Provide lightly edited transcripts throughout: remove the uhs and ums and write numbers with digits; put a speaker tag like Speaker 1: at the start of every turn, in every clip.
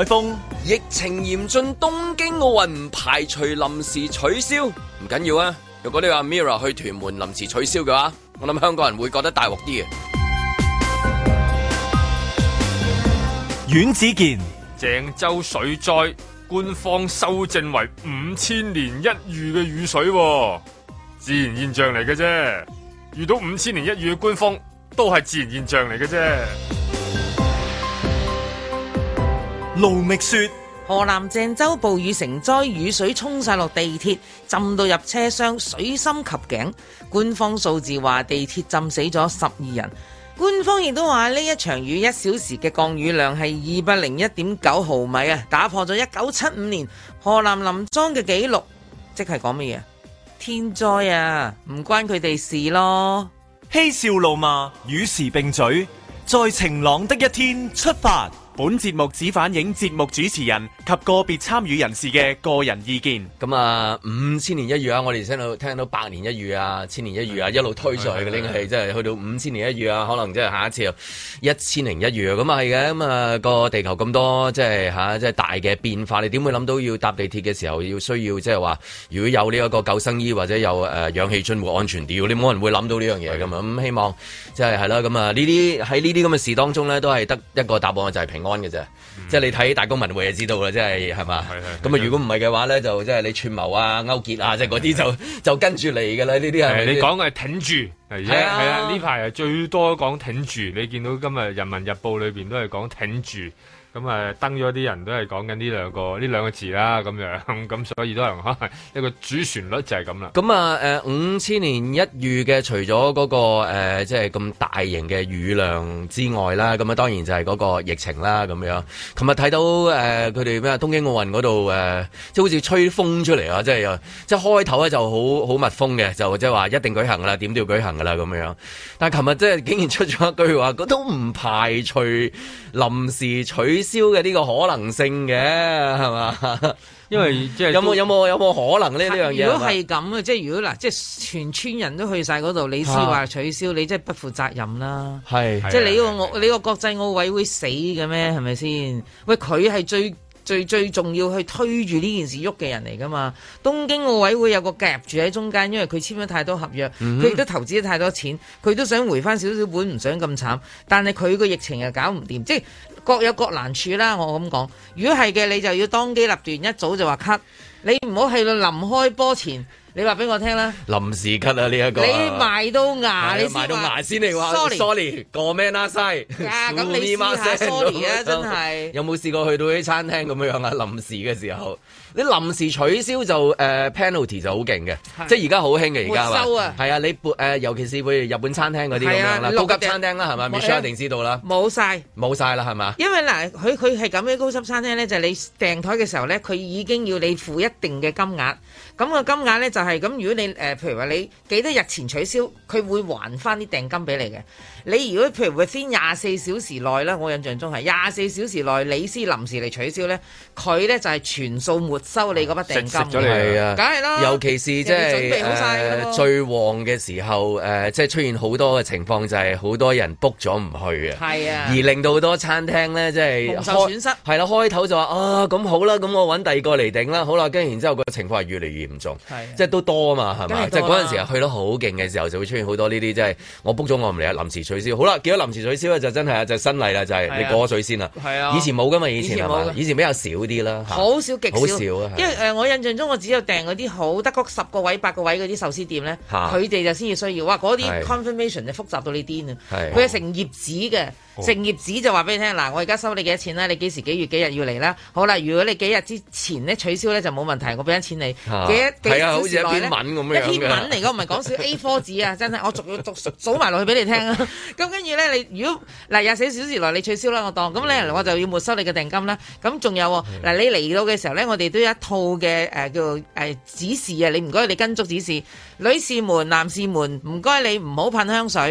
Speaker 1: 海峰，
Speaker 2: 疫情嚴峻，東京奧運排除臨時取消，唔緊要啊！如果你話 Mirror 去屯門臨時取消嘅話，我諗香港人會覺得大鑊啲嘅。
Speaker 1: 阮子健，
Speaker 3: 鄭州水災，官方修正為5000年一遇嘅雨水，自然現象嚟嘅啫。遇到5000年一遇嘅官方，都係自然現象嚟嘅啫。
Speaker 1: 盧覓雪，
Speaker 4: 河南鄭州暴雨成災，雨水沖晒落地鐵，浸到入車廂，水深及頸。官方數字話地鐵浸死咗12人。官方亦都話呢一場雨1小時嘅降雨量係201.9毫米啊，打破咗1975年河南臨莊嘅紀錄。即係講乜嘢？天災啊，唔關佢哋事咯。
Speaker 1: 嬉笑怒罵，與時並舉，在晴朗的一天出發。本節目只反映節目主持人及個別參與人士嘅個人意見。
Speaker 2: 咁啊，5000年一遇啊，我哋聽到100年一遇啊，1000年一遇啊，一路推上去嘅呢個係真係去到5000年一遇啊，可能即係下一次又1000年一遇啊，咁啊係嘅。咁啊個地球咁多即係大嘅變化，你點會諗到要搭地鐵嘅時候要需要即係話，如果有呢一個救生衣或者有氧氣樽會安全啲，你冇人會諗到呢樣嘢㗎嘛。咁希望即係啦，咁啊呢啲喺呢啲咁嘅事當中咧，都係得一個答案就係平安嘅啫。即係你睇大公文匯就知道啦，即係係嘛。咁啊如果唔係嘅話咧，就即係你串謀啊、勾結啊，即係嗰啲就跟住嚟㗎啦。呢啲係
Speaker 3: 你講嘅係挺住，係啊，呢排係最多講挺住。你見到今日《人民日報》裏邊都係講挺住。咁啊，登咗啲人都係講緊呢兩個字啦，咁樣咁，所以都係可能一個主旋律就係咁啦。
Speaker 2: 咁啊，5000年一遇嘅，除咗嗰個即係咁大型嘅雨量之外啦，咁啊當然就係嗰個疫情啦，咁樣。琴日睇到佢哋咩東京奧運嗰度即係好似吹風出嚟啊！即係開頭咧就好密封嘅，就即係話一定舉行噶啦，點都要舉行噶啦咁樣。但係琴日即係竟然出咗一句話，都唔排除臨時取消嘅呢個可能性嘅，係嘛？
Speaker 3: 因為即係
Speaker 2: 有冇可能呢樣嘢？
Speaker 4: 如果係咁嘅，即係如果嗱，即係全村人都去晒嗰度，你先話取消，你真係不負責任啦。係，即係你個國際奧委會死嘅咩？係咪先？喂，佢係最重要去推住呢件事喐嘅人嚟噶嘛？東京奧委會有個夾住喺中間，因為佢簽咗太多合約，佢亦都投資咗太多錢，佢都想回翻少少本，唔想咁慘。但係佢個疫情又搞唔掂，即係各有各難處啦。我咁講，如果係嘅，你就要當機立斷，一早就話 cut，你唔好喺度臨開波前。你話俾我聽啦，臨
Speaker 2: 時咳啊呢一個，
Speaker 4: 你埋到牙，你
Speaker 2: 埋到牙先嚟話 sorry，個咩啦西，
Speaker 4: 咁你試下 sorry 啊，真係。
Speaker 2: 有冇試過去到啲餐廳咁樣啊？臨時嘅時候，你臨時取消就penalty 就好勁嘅，即係而家好興嘅而家係嘛？係啊，你尤其是會日本餐廳嗰啲咁樣啦，高級餐廳啦係咪 Michelle 一定知道啦，冇晒啦係嘛？因為嗱，佢係咁嘅高級餐廳咧，就係你訂台嘅時候咧，佢已經要你付一定嘅金額。咁個金額咧就係咁，如果你譬如話你幾多日前取消，佢會還翻啲訂金俾你嘅。你如果譬如話先24小時內咧，我印象中係24小時內你先臨時嚟取消咧，佢咧就係全數沒收你嗰筆訂金。食咗你係啊，梗係啦。尤其是即係最旺嘅時候，即係出現好多嘅情況，就係好多人 book 咗唔去啊。係啊，而令到好多餐廳咧，即係蒙受損失。係啦，開頭就話啊，咁好啦，咁我揾第二個嚟頂啦。好啦，跟住然之後個情況係越嚟越嚴重，即係都多啊嘛，係嘛？即係嗰陣時去得好勁嘅時候，就會出現好多呢啲，即係我 book 咗我唔嚟啊，臨時取消。好啦，見到臨時取消咧，就真係啊，就新例啦，就係你過咗水先啦。係啊，以前冇噶嘛，以前係嘛？以前比較少啲啦，好少極少。好少啊，因為我印象中我只有訂嗰啲好得嗰10個位、8個位嗰啲壽司店咧，佢哋就先至需要。哇，嗰啲 confirmation 就複雜到你癲啊！佢係成頁紙嘅。成頁紙就話俾你聽，嗱，我而家收你幾多錢啦？你幾時幾月幾日要嚟啦？好啦，如果你幾日之前咧取消咧就冇問題，我俾緊錢你。幾小時內咧？一篇文嚟，我唔係講笑 A4 紙啊，真係我逐數埋落去俾你聽啊。咁跟住咧，你如果嗱24小時內你取消啦，我當咁咧，我就要沒收你嘅訂金啦。咁仲有嗱，你嚟到嘅時候咧，我哋都有一套嘅叫指示啊，你唔該你跟足指示，女士們、男士們，唔該你唔好噴香水。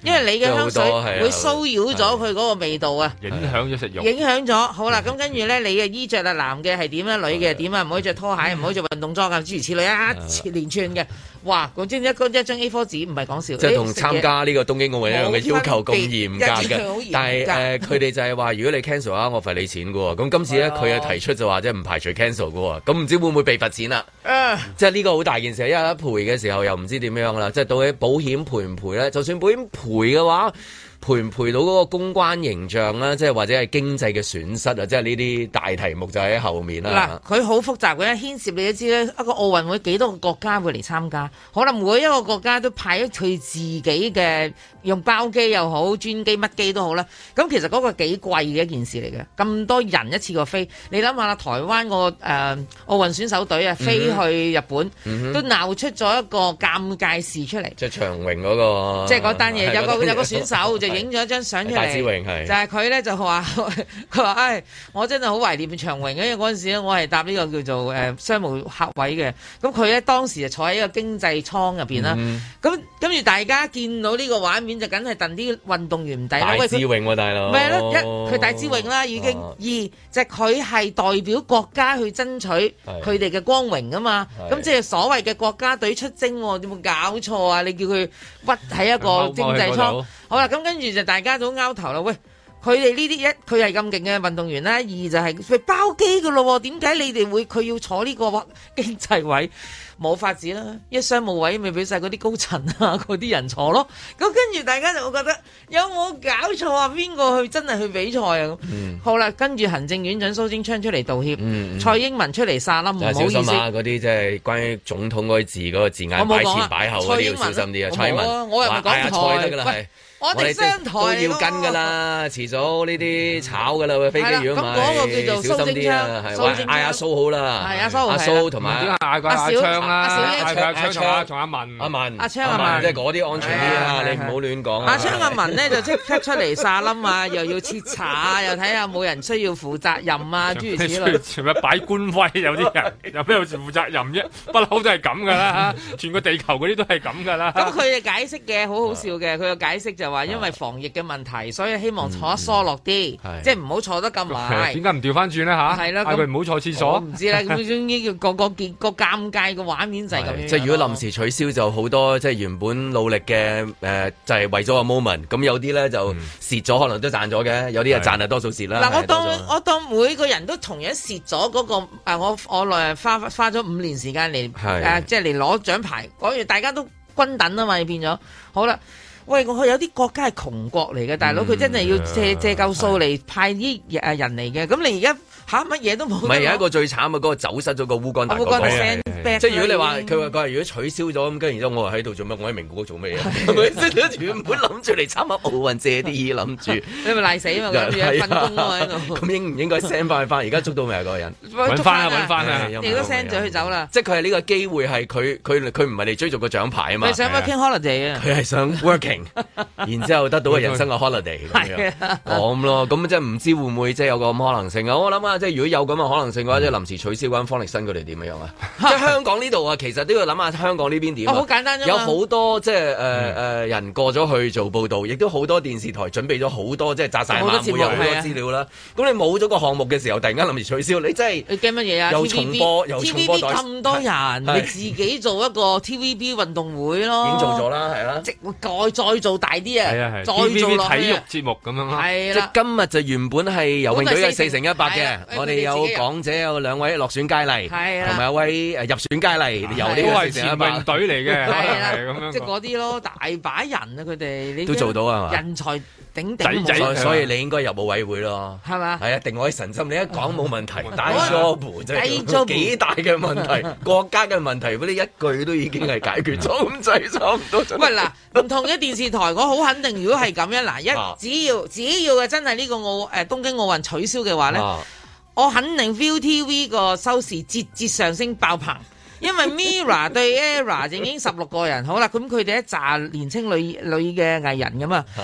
Speaker 4: 因為你嘅香水會騷擾咗佢嗰個味道啊，
Speaker 3: 影響咗食慾，
Speaker 4: 影響咗。好啦，咁跟住咧，你嘅衣着啊，男嘅係點啊，女嘅係點啊，唔可以着拖鞋，唔可以着運動裝啊，諸如此類啊，連串嘅。哇！講真，一張 A4 紙唔係講笑，
Speaker 2: 即係同參加呢個東京奧運一樣嘅要求咁嚴格嘅。但係佢哋就係話，如果你 cancel 啊，我罰你錢嘅喎。咁今次咧，佢又提出就話，即係唔排除 cancel 嘅喎。咁唔知會唔會被罰錢啦？即係呢個好大件事，因為一賠嘅時候又唔知點樣啦。即係到底保險賠唔賠咧？就算保險賠嘅話，賠唔賠到嗰個公關形象啦，即係或者係經濟嘅損失啊，即係呢啲大題目就喺後面啦。
Speaker 4: 嗱，佢好複雜嘅，牽涉你都知咧，一個奧運會幾多個國家會嚟參加，可能每一個國家都派咗佢自己嘅用包機又好，專機乜機都好啦。咁其實嗰個幾貴嘅一件事嚟嘅，咁多人一次過飛，你諗下啦，台灣個奧運選手隊啊飛去日本，都鬧出咗一個尷尬事出嚟。
Speaker 2: 即係長榮嗰個，
Speaker 4: 即係嗰單嘢，有個選手就影咗一張相出嚟，
Speaker 2: 戴志榮係，
Speaker 4: 就係佢咧就話，佢話唉，我真係好懷念長榮嘅，因為嗰陣時咧我係搭呢個叫做商務客位嘅，咁佢咧當時就坐喺一個經濟艙入邊啦，咁跟住大家見到呢個畫面就梗係戥啲運動員唔抵啦。
Speaker 2: 戴志榮喎，大佬，
Speaker 4: 咪係咯，一佢戴志榮啦已經，二就佢係代表國家去爭取佢哋嘅光榮啊嘛，咁即係所謂嘅國家隊出征，有冇搞錯啊？你叫佢屈喺一個經濟艙，好啦，咁跟住就大家都拗頭啦。喂，佢哋呢啲一佢係咁勁嘅運動員啦，二就係佢包機噶咯，點解你哋會佢要坐呢個經濟位？冇法子啦，一商務位咪俾晒嗰啲高層啊嗰啲人坐咯。咁跟住大家就會覺得有冇搞錯啊？邊個去真係去比賽啊？好啦，跟住行政院長蘇貞昌出嚟道歉，蔡英文出嚟撒冧，唔好意思。小心啊！嗰
Speaker 2: 啲即係關於總統嗰啲字嗰個字眼擺前擺後嗰啲要小心啲啊！蔡英文，
Speaker 4: 我又唔講台得㗎啦，我哋商台
Speaker 2: 都要跟㗎啦，遲早呢啲炒㗎啦，飛機如果買，
Speaker 4: 咁嗰個叫做蘇貞昌，
Speaker 2: 嗌阿蘇好啦，
Speaker 4: 係阿
Speaker 2: 蘇同埋
Speaker 3: 阿昌啦，
Speaker 2: 阿昌
Speaker 3: 同阿文，
Speaker 4: 阿昌阿文，
Speaker 2: 即係嗰啲安全啲啊！你唔好亂講。
Speaker 4: 阿昌阿文咧就即刻出嚟撒冧啊，又要徹查啊，又睇下冇人需要負責任啊，諸如此類。
Speaker 3: 全部擺官威，有啲人有邊有負責任啫？不嬲都係咁㗎啦，全個地球嗰啲都係咁㗎啦。咁
Speaker 4: 佢嘅解釋嘅好好笑嘅，佢嘅解釋就話因為防疫嘅問題，所以希望坐得疏落啲，即係唔好坐得咁埋。
Speaker 3: 點解唔調翻轉咧嚇？係啦，佢唔好坐廁所。
Speaker 4: 唔知啦，咁終於個尷尬嘅畫面就係咁樣。
Speaker 2: 即係如果臨時取消就好多，即係原本努力嘅就係為咗個 moment。咁有啲咧就蝕咗，可能都賺咗嘅；有啲係賺係多數蝕啦。
Speaker 4: 嗱，我當每個人都同樣蝕咗嗰個我花咗5年時間嚟即係嚟攞獎牌，講完大家都均等啊嘛，變咗好啦。喂，我有啲國家係窮國嚟嘅，大佬佢真係要借夠數嚟派啲人嚟嘅，咁你而家乜嘢都冇。唔係
Speaker 2: 有一個最慘嘅嗰個走失咗個烏干達嗰個，即係如果你話佢話如果取消咗咁，跟住然之後我喺度做咩？我喺名古屋做咩啊？係咪原本諗住嚟參加奧運借啲諗住，
Speaker 4: 你咪賴死啊嘛！諗住瞓工啊喺度。
Speaker 2: 咁應唔應該 send 翻去翻？而家捉到未啊？嗰個人
Speaker 3: 揾翻啊！
Speaker 4: 你都 send 咗佢走啦。
Speaker 2: 即係佢係呢個機會係佢唔係嚟追逐個獎牌啊嘛。
Speaker 4: 佢想 working holiday 啊！
Speaker 2: 佢係想 working。然之後得到個人生嘅 holiday 咁樣咁咯，咁即係唔知會唔會即係有個咁可能性啊？我諗啊，即係如果有咁嘅可能性嘅話，即係臨時取消嗰間方力申佢哋點樣啊？即係香港呢度啊，其實都要諗下香港呢邊點啊？
Speaker 4: 好簡單啫嘛，
Speaker 2: 有好多即係人過咗去做報導，亦都好多電視台準備咗好多即係紮晒馬會有好多資料啦。咁你冇咗個項目嘅時候，突然間臨時取消，你真係
Speaker 4: 你驚乜嘢啊？
Speaker 2: 又重播又重播
Speaker 4: 咁多人，你自己做一個 TVB 運動會咯，
Speaker 2: 已經做咗啦，係啦，
Speaker 4: 即再做大啲啊！再做落去
Speaker 3: TVB 體育節目咁樣咯，
Speaker 4: 係
Speaker 2: 啦。即係今日就原本係游泳隊嘅4×100嘅，我哋有港姐有2位落選佳麗，同埋一位入選佳麗，游呢個4×100
Speaker 3: 前泳隊嚟嘅，
Speaker 4: 係啦，咁樣即係嗰啲咯，大把人啊，佢哋你
Speaker 2: 都做到啊嘛，
Speaker 4: 人才鼎鼎，
Speaker 2: 所以你應該入奧委會咯，
Speaker 4: 係嘛？
Speaker 2: 係啊，定我神心，你一講冇問題，大 job 真係幾大嘅問題，國家嘅問題，嗰啲一句都已經係解決咗咁滯，差唔多。
Speaker 4: 喂嗱，唔同嘅電視台，我好肯定，如果係咁樣嗱，只要嘅真係呢個東京奧運取消嘅話咧，我肯定 ViuTV 個收視節上升爆棚。因為 Mirror 對 Error 已經16個人，好啦，咁佢哋一紮年青女嘅藝人咁啊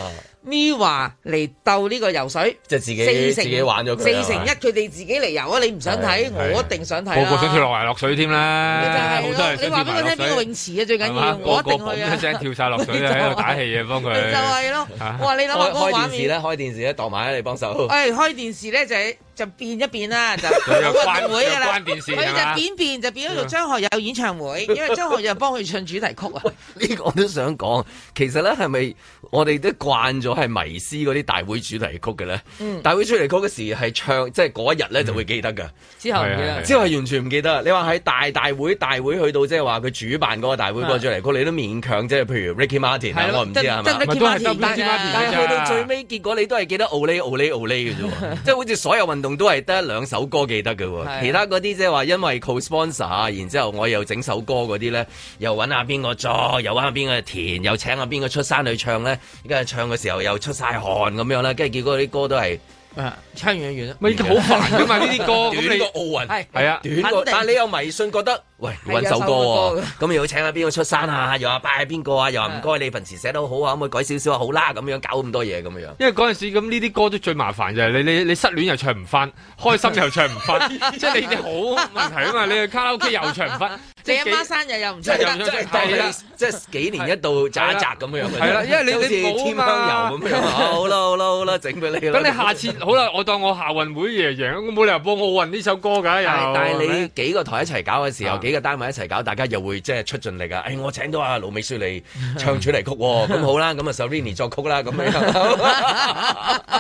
Speaker 4: MIRROR 嚟鬥呢個游水，
Speaker 2: 即係自己玩咗佢
Speaker 4: 4-1，佢哋自己嚟游啊！你唔想睇，我一定想睇啦。
Speaker 3: 個個想跳落嚟落水添啦，
Speaker 4: 好多人你話俾我聽邊個泳池啊？最緊要我一定去啊！
Speaker 3: 一聲跳晒落水喺度打氣啊，幫佢。
Speaker 4: 就係咯，哇！你諗下嗰個畫面，
Speaker 2: 開電視咧，度埋你幫手。
Speaker 4: 開電視咧就變一變啦，就運動會㗎啦。佢就變就變咗做張學友演唱會，因為張學友幫佢唱主題曲啊。
Speaker 2: 呢個我都想講，其實咧係咪我哋都慣咗係迷思嗰啲大會主題曲嘅咧？大會主題曲嘅時係唱，即係嗰一日咧就會記得㗎。之後唔記得，之後係完全唔記得。你話喺大會去到即係話佢主辦嗰個大會嗰個主題曲，你都勉強即係譬如 Ricky Martin 我唔知係嘛？但係去到最尾結果你都係記得 Olay 嘅啫，即係好似所有運動都係得2首歌記得嘅喎，其他嗰啲即係話因為 co-sponsor 啊，然之後我又整首歌嗰啲咧，又揾下邊個作，又揾下邊個填，又請下邊個出山去唱咧，而家唱嘅時候又出晒汗咁樣啦，跟住結果啲歌都係。
Speaker 4: 唱完啦，
Speaker 3: 咪好煩噶嘛呢啲歌，
Speaker 2: 短過奧運
Speaker 3: 係啊，
Speaker 2: 短過，但係你有迷信覺得，喂揾首歌喎，咁又要請下邊個出山啊，又話拜下邊個啊，又話唔該你份詞寫得好啊，可唔可以改少少啊？好啦，咁樣搞咁多嘢咁樣。
Speaker 3: 因為嗰陣時咁呢啲歌都最麻煩就係你失戀又唱唔翻，開心又唱唔翻，即係你哋好問題啊嘛！你去卡拉 OK 又唱唔翻，
Speaker 4: 你阿媽生日又唔唱得，
Speaker 2: 即係幾年一度摘一摘咁樣。
Speaker 3: 係啦，因為你
Speaker 2: 添香油咁樣。好啦，整俾你啦。
Speaker 3: 咁你下次好啦，我當我夏運會贏，我冇理由播奧運呢首歌㗎。
Speaker 2: 但係你幾個台一齊搞嘅時候，幾個單位一齊搞，大家又會即係出盡力啊！我請到阿盧美雪嚟唱主題曲喎，咁好啦，咁啊 Serrini 作曲啦，咁樣。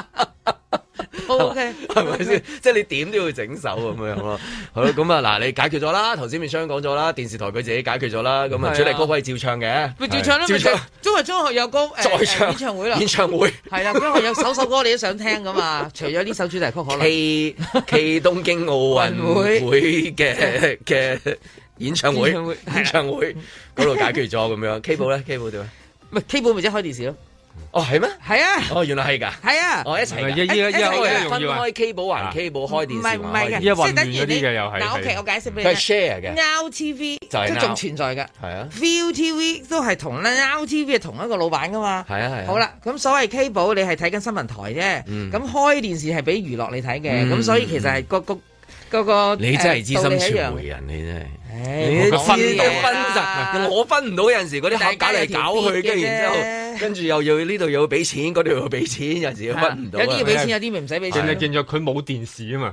Speaker 4: O K，
Speaker 2: 係咪先？即係你點都要整首咁樣咯。好啦，咁啊嗱，你解決咗啦。頭先面商講咗啦，電視台佢自己解決咗啦。咁啊，主題歌可以照唱嘅，
Speaker 4: 咪照唱啦。咪因為張學友歌再唱演唱會啦。
Speaker 2: 演唱會
Speaker 4: 係啦，張學友首歌你都想聽噶嘛？除咗呢首主題曲，可能
Speaker 2: K 東京奧運會嘅演唱會嗰度解決咗咁樣。K 寶咧 ，K 寶點啊？
Speaker 4: 唔係 K 寶咪即係開電視咯。
Speaker 2: 哦，係咩？
Speaker 4: 係啊！
Speaker 2: 哦，原來係㗎。
Speaker 4: 係啊！
Speaker 2: 哦，一齊㗎。分開 K 寶還 K 寶開電視，
Speaker 4: 唔係嘅，
Speaker 3: 即係等於啲嘅又係。
Speaker 4: 嗱，OK，我解釋俾你。
Speaker 2: 佢係 share 嘅。
Speaker 4: Now TV 即係仲存在嘅。
Speaker 2: 係啊。
Speaker 4: ViuTV 都係同 Now TV 係同一個老闆㗎嘛。
Speaker 2: 係啊。
Speaker 4: 好啦，咁所謂 K 寶你係睇緊新聞台啫。咁開電視係俾娛樂你睇嘅。咁所以其實係個
Speaker 2: 你真係資深傳媒人，你真係。你分集，我分唔到有陣時嗰啲客搞嚟搞去，跟住然之後，跟住又要呢度又要俾錢，嗰度又要俾錢，有陣時又分唔到。
Speaker 4: 有啲要俾錢，有啲咪唔使俾錢。
Speaker 3: 你見咗佢冇電視啊嘛？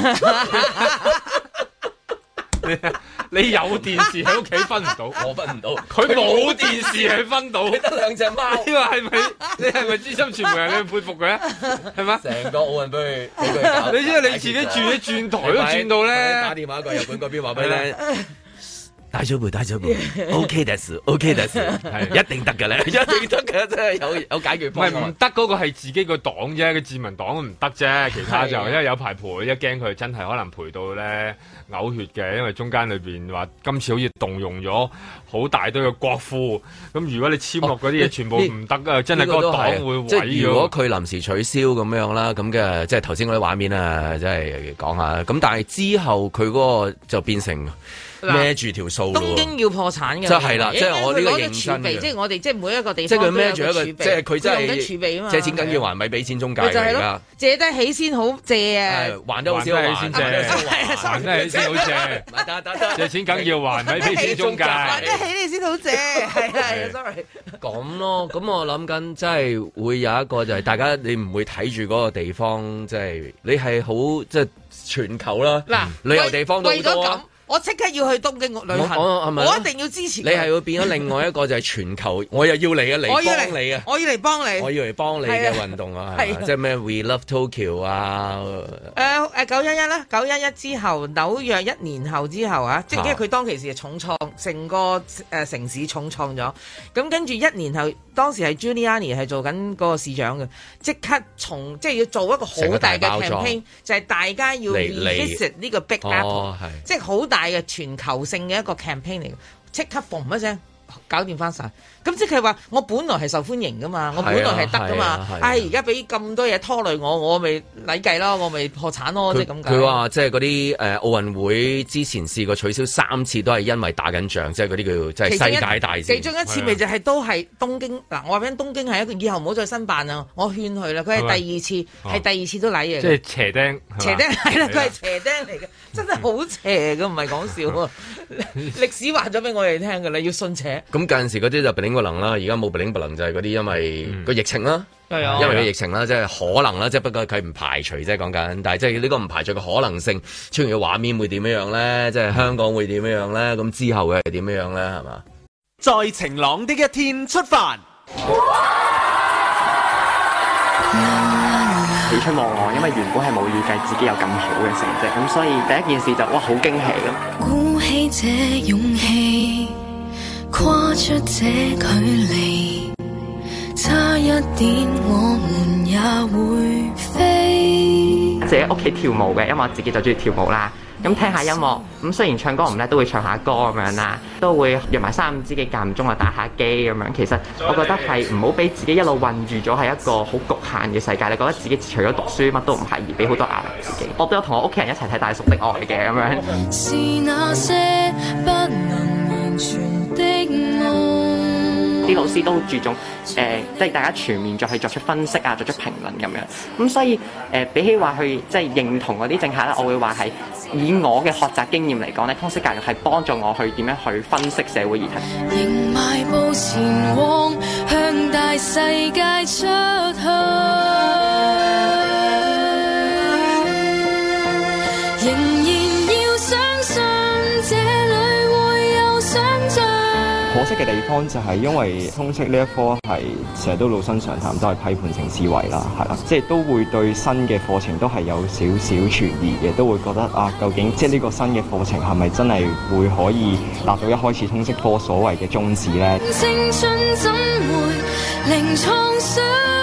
Speaker 3: 你有電視喺屋企分唔到，
Speaker 2: 我分唔到。
Speaker 3: 佢冇電視係分到，
Speaker 2: 得2隻貓。
Speaker 3: 你話係咪？你係咪資深傳媒人？你佩服佢啊？係嘛？
Speaker 2: 成個奧運俾佢搞。
Speaker 3: 你知道你自己轉台都轉到咧。
Speaker 2: 打電話過日本嗰邊話俾你聽。大丈夫，OK です，OK です，係一定得嘅咧，一定得嘅，真係有解決方案。
Speaker 3: 唔得嗰個係自己個黨啫，個自民黨唔得啫，其他就因為有排賠，一驚佢真係可能賠到咧嘔血嘅，因為中間裏邊話今次好似動用咗好大堆嘅國庫，咁如果你簽落嗰啲嘢全部唔得啊，真係個黨會毀咗。
Speaker 2: 即係如果佢臨時取消咁樣啦，咁嘅即係頭先嗰啲畫面啊，即係講下。咁但係之後佢嗰個就變成。孭住條數咯，
Speaker 4: 東京要破產嘅，
Speaker 2: 即係啦，即係我呢個認真嘅，
Speaker 4: 即係我哋即係每一個地方，
Speaker 2: 即係佢孭住一個，即係佢真係
Speaker 4: 儲備啊嘛，
Speaker 2: 借錢緊要還，咪俾錢中介嚟㗎，
Speaker 4: 借得起先好借啊，
Speaker 2: 還得好少還先借，
Speaker 3: 還得起先好借，借錢梗要還，咪俾錢中介，
Speaker 4: 還得起你先好借，係 sorry，
Speaker 2: 咁咯，咁我諗緊，即係會有一個就係大家你唔會睇住嗰個地方，即係你係好即係全球啦，嗱旅遊地方都好多。
Speaker 4: 我即刻要去東京旅行，我一定要支持你。
Speaker 2: 係會變咗另外一個就係全球，我又要嚟啊，嚟幫你啊！
Speaker 4: 我要嚟幫你，
Speaker 2: 我要嚟幫你嘅運動啊！即係咩 We Love Tokyo 啊
Speaker 4: ！911啦，911之後紐約1年後之後啊，即係因為佢當其時係重創，成個城市重創咗。咁跟住1年後，當時係 Giuliani 係做緊嗰個市長嘅，即刻即係要做一個好大嘅 campaign，就係大家要 visit 呢個 Big Apple，即係好大嘅全球性嘅一個 campaign 嚟嘅，即刻嘣一聲搞掂翻晒。咁即係話我本來係受歡迎噶嘛，我本來係得噶嘛，而家俾咁多嘢拖累我咪禮計咯，我咪破產咯，即係咁解。佢
Speaker 2: 話即係嗰啲奧運會之前試過取消3次，都係因為打緊仗，即係嗰啲叫即係世界大事。
Speaker 4: 其中一次咪就係都係東京嗱，我話俾你東京係一個以後唔好再申辦啊！我勸佢啦，佢係第二次，係第二次都禮嘅。
Speaker 3: 即係斜釘，
Speaker 4: 斜釘係啦，佢係斜釘嚟嘅，真係好邪嘅，唔係講笑啊！歷史話咗俾我哋聽㗎啦，要信邪。
Speaker 2: 咁近陣時嗰啲就不靈不能啦，而家冇不靈不能就係嗰啲因為個疫情啦，因為個疫情啦，即係可能啦，即係不過佢唔排除即係講緊，但係即係呢個唔排除嘅可能性出現嘅畫面會點樣咧？即係香港會點樣咧？咁之後會係點樣咧？係嘛？
Speaker 1: 在晴朗的一天出發。
Speaker 5: 喜出望外，因為原本係冇預計自己有咁好嘅成績，咁所以第一件事就哇好驚喜咯。鼓起這勇氣，跨出這距離，差一點我們也會飛。自己屋企跳舞嘅，因為我自己就中意跳舞啦。咁聽下音樂，咁雖然唱歌唔叻，都會唱下歌咁樣啦，都會約埋3、5知己間唔中啊打下機咁樣。其實我覺得係唔好俾自己一路困住咗係一個好局限嘅世界。你覺得自己除咗讀書乜都唔係，而俾好多壓力自己。我都有同我屋企人一齊睇《大叔的愛》嘅咁樣。是那些不能完全的愛。啲老師都好注重即係大家全面再去作出分析啊，作出評論咁樣。咁所以比起話去即係認同嗰啲政客咧，我會話係以我嘅學習經驗嚟講咧，通識教育係幫助我去點樣去分析社會議題。仍邁步前往，向大世界出去。仍然要相信這裡會有想像。可惜嘅地方就係因為通識呢一科係成日都老生常談，都係批判性思維啦，係啦，即係都會對新嘅課程都係有少少存疑嘅，都會覺得啊，究竟即係呢個新嘅課程係咪真係會可以達到一開始通識科所謂嘅宗旨咧？青春怎會零創傷？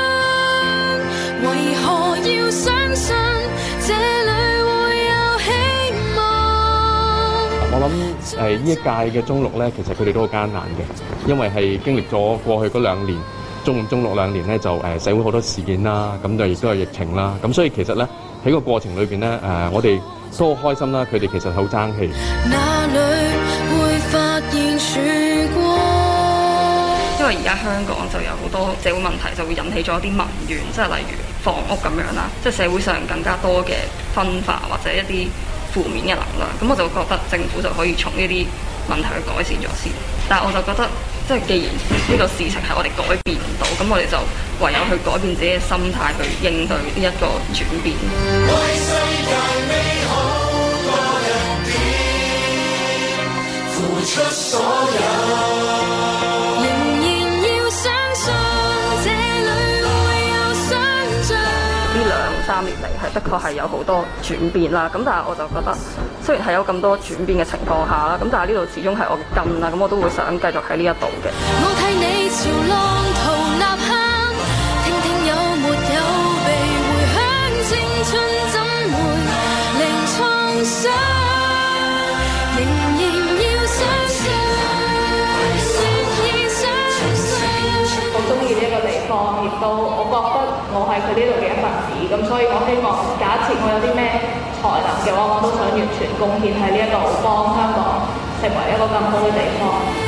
Speaker 5: 為何要相信這裡會有希望？我諗呢一屆嘅中六咧，其實佢哋都好艱難嘅，因為係經歷咗過去嗰2年，中5、中62年咧就社會好多事件啦，咁就亦都係疫情啦，咁所以其實咧喺個過程裏邊咧我哋都好開心啦，佢哋其實好爭氣。哪裡會發現曙光？因為而家香港就有好多社會問題，就會引起咗一啲民怨，即係例如房屋咁樣啦，即係社會上更加多嘅分化或者一啲負面嘅能量，咁我就覺得政府就可以從呢啲問題去改善咗先。但係我就覺得，即係既然呢個事情係我哋改變唔到，咁我哋就唯有去改變自己嘅心態，去應對呢一個轉變。為世界美好多一點，付出所有。3年嚟係的確係有好多轉變啦，咁但係我就覺得雖然係有咁多轉變嘅情況下啦，咁但係呢度始終係我嘅根啦，咁我都會想繼續喺呢一度嘅。我替你潮浪淘吶喊，聽聽有沒有被回響，青春怎會零創傷，仍然要相信，願意相信。我中意呢一個地方，亦都我覺得我係佢呢度嘅一份子，咁所以我希望假設我有啲咩才能嘅話，我都想完全貢獻喺呢一度，幫香港成為一個更好嘅地方。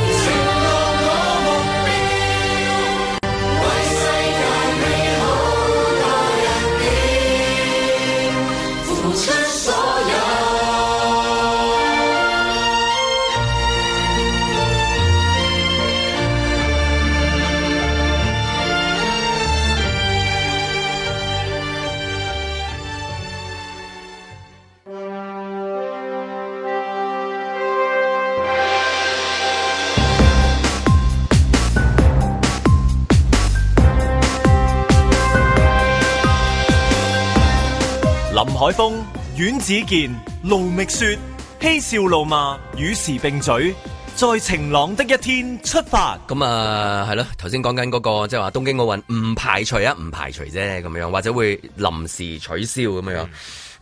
Speaker 1: 林海峰、阮子健、盧覓雪，嬉笑怒罵，與時並舉，在晴朗的一天出發。
Speaker 2: 咁係咯，頭先講緊嗰個即係話東京奧運唔排除啫，咁樣或者會臨時取消咁樣。咁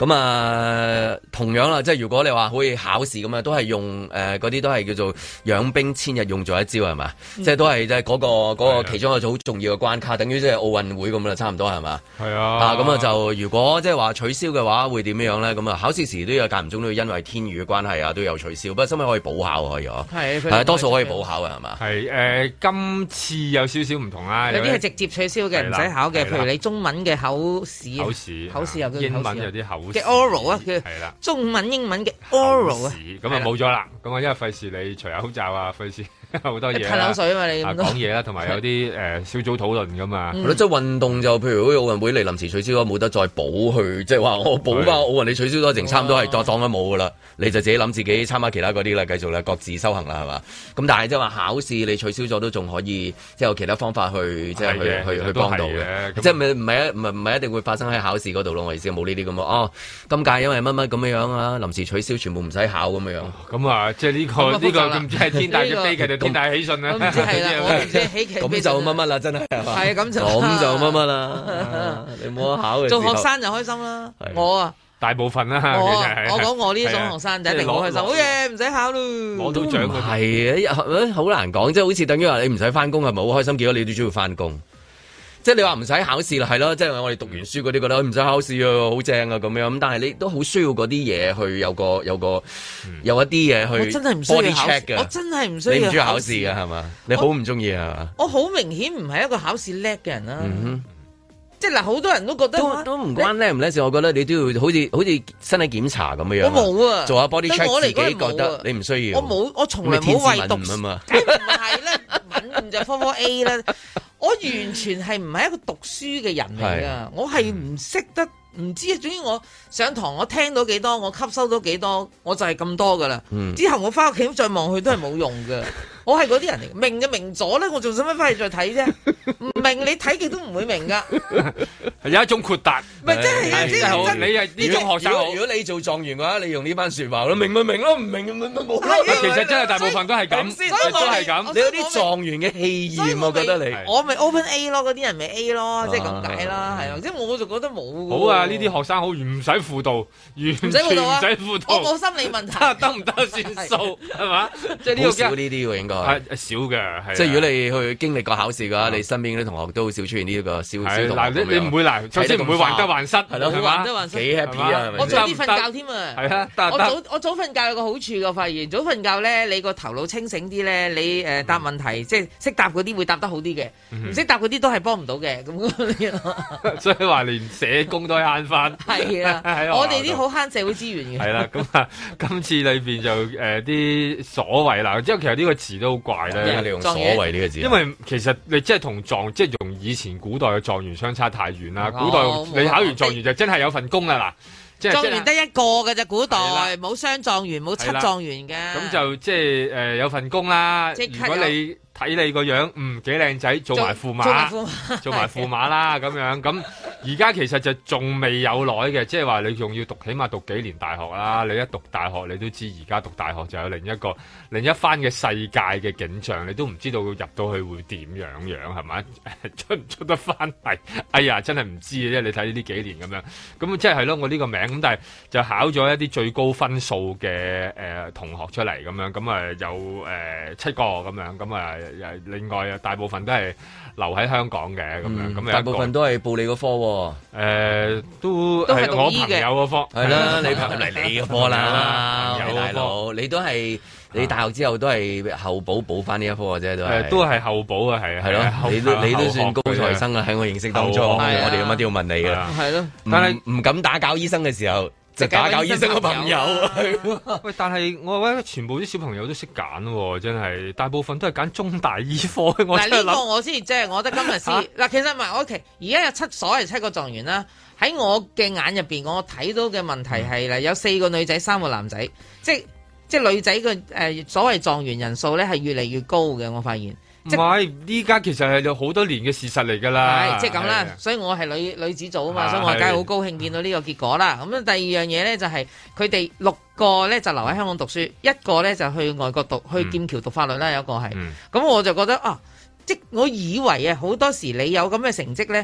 Speaker 2: 咁啊，同樣啦，即係如果你話可以考試咁啊，都係用嗰啲都係叫做養兵千日用在一朝係嘛？即係都係即係嗰個其中一個好重要嘅關卡，等於即係奧運會咁啦，差唔多係嘛？係啊。咁啊就如果即係話取消嘅話，會點樣咧？咁啊考試時都有間唔中都要因為天雨嘅關係啊，都有取消。不過收尾可以補考可以嗬？係多數可以補考嘅係嘛？係
Speaker 3: 今次有少少唔同啦，
Speaker 4: 有啲係直接取消嘅，唔使考嘅。譬如你中文嘅口試又叫
Speaker 3: 英文有啲口試
Speaker 4: 嘅 oral 啊，叫中文英文嘅 oral 啊，
Speaker 3: 咁啊冇咗啦。咁啊因為費事你除口罩啊，費事好多嘢。
Speaker 4: 噴口水啊嘛，你
Speaker 3: 講嘢啦，同埋有啲小組討論噶嘛。
Speaker 2: 即係運動就譬如好似奧運會你臨時取消咗，冇得再補去，即係話我補翻奧運你取消咗，剩差唔多係當咗冇噶啦。你就自己諗自己參加其他嗰啲啦，繼續啦，各自修行啦，係嘛？咁但係即係話考試你取消咗都仲可以，即係有其他方法去即係去幫到嘅。即係唔係一定會發生喺考試嗰度咯？我意思冇呢啲咁啊。今屆因為乜乜咁樣啊，臨時取消，全部唔使考咁樣。
Speaker 3: 咁啊，即係呢個唔知係天大嘅悲劇定天大喜訊啊！
Speaker 4: 唔知係啦，我唔知喜劇。
Speaker 2: 咁就乜乜啦，真係係嘛？係
Speaker 4: 咁就
Speaker 2: 乜乜啦。你冇得考嘅。
Speaker 4: 做學生就開心啦，我啊。
Speaker 3: 大部分啦，
Speaker 4: 我講我呢種學生就一定好開心，好嘢唔使考咯，
Speaker 3: 攞到獎嗰啲
Speaker 2: 係啊，好難講，即係好似等於話你唔使翻工係咪好開心？結果你都需要翻工，即係你話唔使考試啦，係咯，即係我哋讀完書嗰啲覺得唔使考試啊，好正啊咁樣，咁但係你都好需要嗰啲嘢去有一啲嘢去，
Speaker 4: 我真係唔需要考試，我真係唔需要。
Speaker 2: 你唔中意考試嘅係嘛？你好唔中意係嘛？
Speaker 4: 我好明顯唔係一個考試叻嘅人啦。即係嗱，好多人都覺得
Speaker 2: 都唔關叻唔叻事，我覺得你都要好似身體檢查咁樣。我
Speaker 4: 冇啊，做
Speaker 2: 下 body check 自己覺得你唔需要。
Speaker 4: 我從來冇為讀
Speaker 2: 啊嘛，
Speaker 4: 梗唔係啦，敏就科 A 啦。我完全係唔係一個讀書嘅人嚟噶，我係唔識得，唔知啊。總之我上堂我聽到幾多，我吸收到幾多，我就係咁多噶啦。之後我翻屋企再望去都係冇用噶。我係嗰啲人嚟，明就明咗咧，我仲使乜翻去再睇啫？唔明你睇極都唔會明噶。
Speaker 3: 有一種豁達，
Speaker 4: 唔係真係
Speaker 3: 你係呢種學生。
Speaker 2: 如果你做狀元嘅話，你用呢番説話咯，明咪明咯，唔明咪冇。
Speaker 3: 其實真係大部分都係咁，都係咁。
Speaker 2: 你有啲狀元嘅氣焰，我覺得你。
Speaker 4: 我咪 Open A 咯，嗰啲人咪 A 咯，即係咁解啦，係啊。即係我就覺得冇。
Speaker 3: 好啊，呢啲學生好唔使輔導，完全唔使輔導。
Speaker 4: 我冇心理問題，
Speaker 3: 得唔得算數係嘛？即係呢個
Speaker 2: 少呢啲喎，應該。
Speaker 3: 係少嘅，
Speaker 2: 即係如果你去經歷過考試嘅話，你身邊啲同學都好少出現呢一個小同學。
Speaker 3: 嗱，你唔會嗱，首先唔會患得患失，係咯，
Speaker 4: 患得患失，
Speaker 2: 幾 happy 啊！
Speaker 4: 我早啲瞓覺添啊！
Speaker 3: 係啊，
Speaker 4: 我早瞓覺有個好處，我發現早瞓覺咧，你個頭腦清醒啲咧，你答問題即係識答嗰啲會答得好啲嘅，唔識答嗰啲都係幫唔到嘅。咁
Speaker 3: 所以話連社工都慳翻。係
Speaker 4: 啊，我哋啲好慳社會資源嘅。
Speaker 3: 係啦，咁啊，今次裏邊就啲所謂啦，即係其實呢個詞都好怪。
Speaker 2: 你用所謂呢個字，
Speaker 3: 因為其實你即係同即係用以前古代嘅狀元相差太遠啦。古代你考完狀元就真係有份工啦，嗱，即係
Speaker 4: 狀元得一個嘅啫，古代冇雙狀元，冇七狀元嘅。
Speaker 3: 咁就即係有份工啦。如果你睇你個樣，幾靚仔，做埋駙馬，做埋駙馬啦咁樣。咁而家其實就仲未有耐嘅，即係話你仲要讀，起碼讀幾年大學啦。你一讀大學，你都知而家讀大學就有另一番嘅世界嘅景象，你都唔知道入到去會點樣係咪？出唔出得翻嚟？哎呀，真係唔知嘅啫。你睇呢幾年咁樣，咁即係咯，我呢個名咁，但係就考咗一啲最高分數嘅同學出嚟咁樣，咁啊有7個咁樣，咁啊。另外啊，大部分都係留喺香港嘅咁樣，咁
Speaker 2: 大部分都係報你個科，
Speaker 3: 都係我朋友嗰科，
Speaker 2: 係啦，你嚟你個科啦，大佬，你都係你大學之後都係後補翻呢一科嘅啫，
Speaker 3: 都係後補啊，係
Speaker 2: 咯，你都算高材生啊，喺我認識當中，我哋乜都要問你嘅，
Speaker 4: 係咯，
Speaker 2: 但係唔敢打攪醫生嘅時候。就打攪醫生嘅朋友，
Speaker 3: 喂！但係我覺得全部啲小朋友都識揀喎，真係大部分都係揀中大醫科。
Speaker 4: 嗱呢個我先即係，我覺得今日先嗱，其實唔係，OK，而家有所謂7個狀元啦。喺我嘅眼入邊，我睇到嘅問題係啦，有4個女仔，3個男仔，即係女仔嘅所謂狀元人數咧係越嚟越高嘅，我發現。
Speaker 3: 唔係，呢家其實係有好多年嘅事實嚟㗎啦。
Speaker 4: 係，即係咁啦。所以我係女子組啊嘛，所以我梗係好高興見到呢個結果啦。咁第二樣嘢咧就係佢哋6個咧就留喺香港讀書，1個咧就去外國讀，去劍橋讀法律啦。有一個係。咁我就覺得啊，即我以為啊，好多時你有咁嘅成績咧，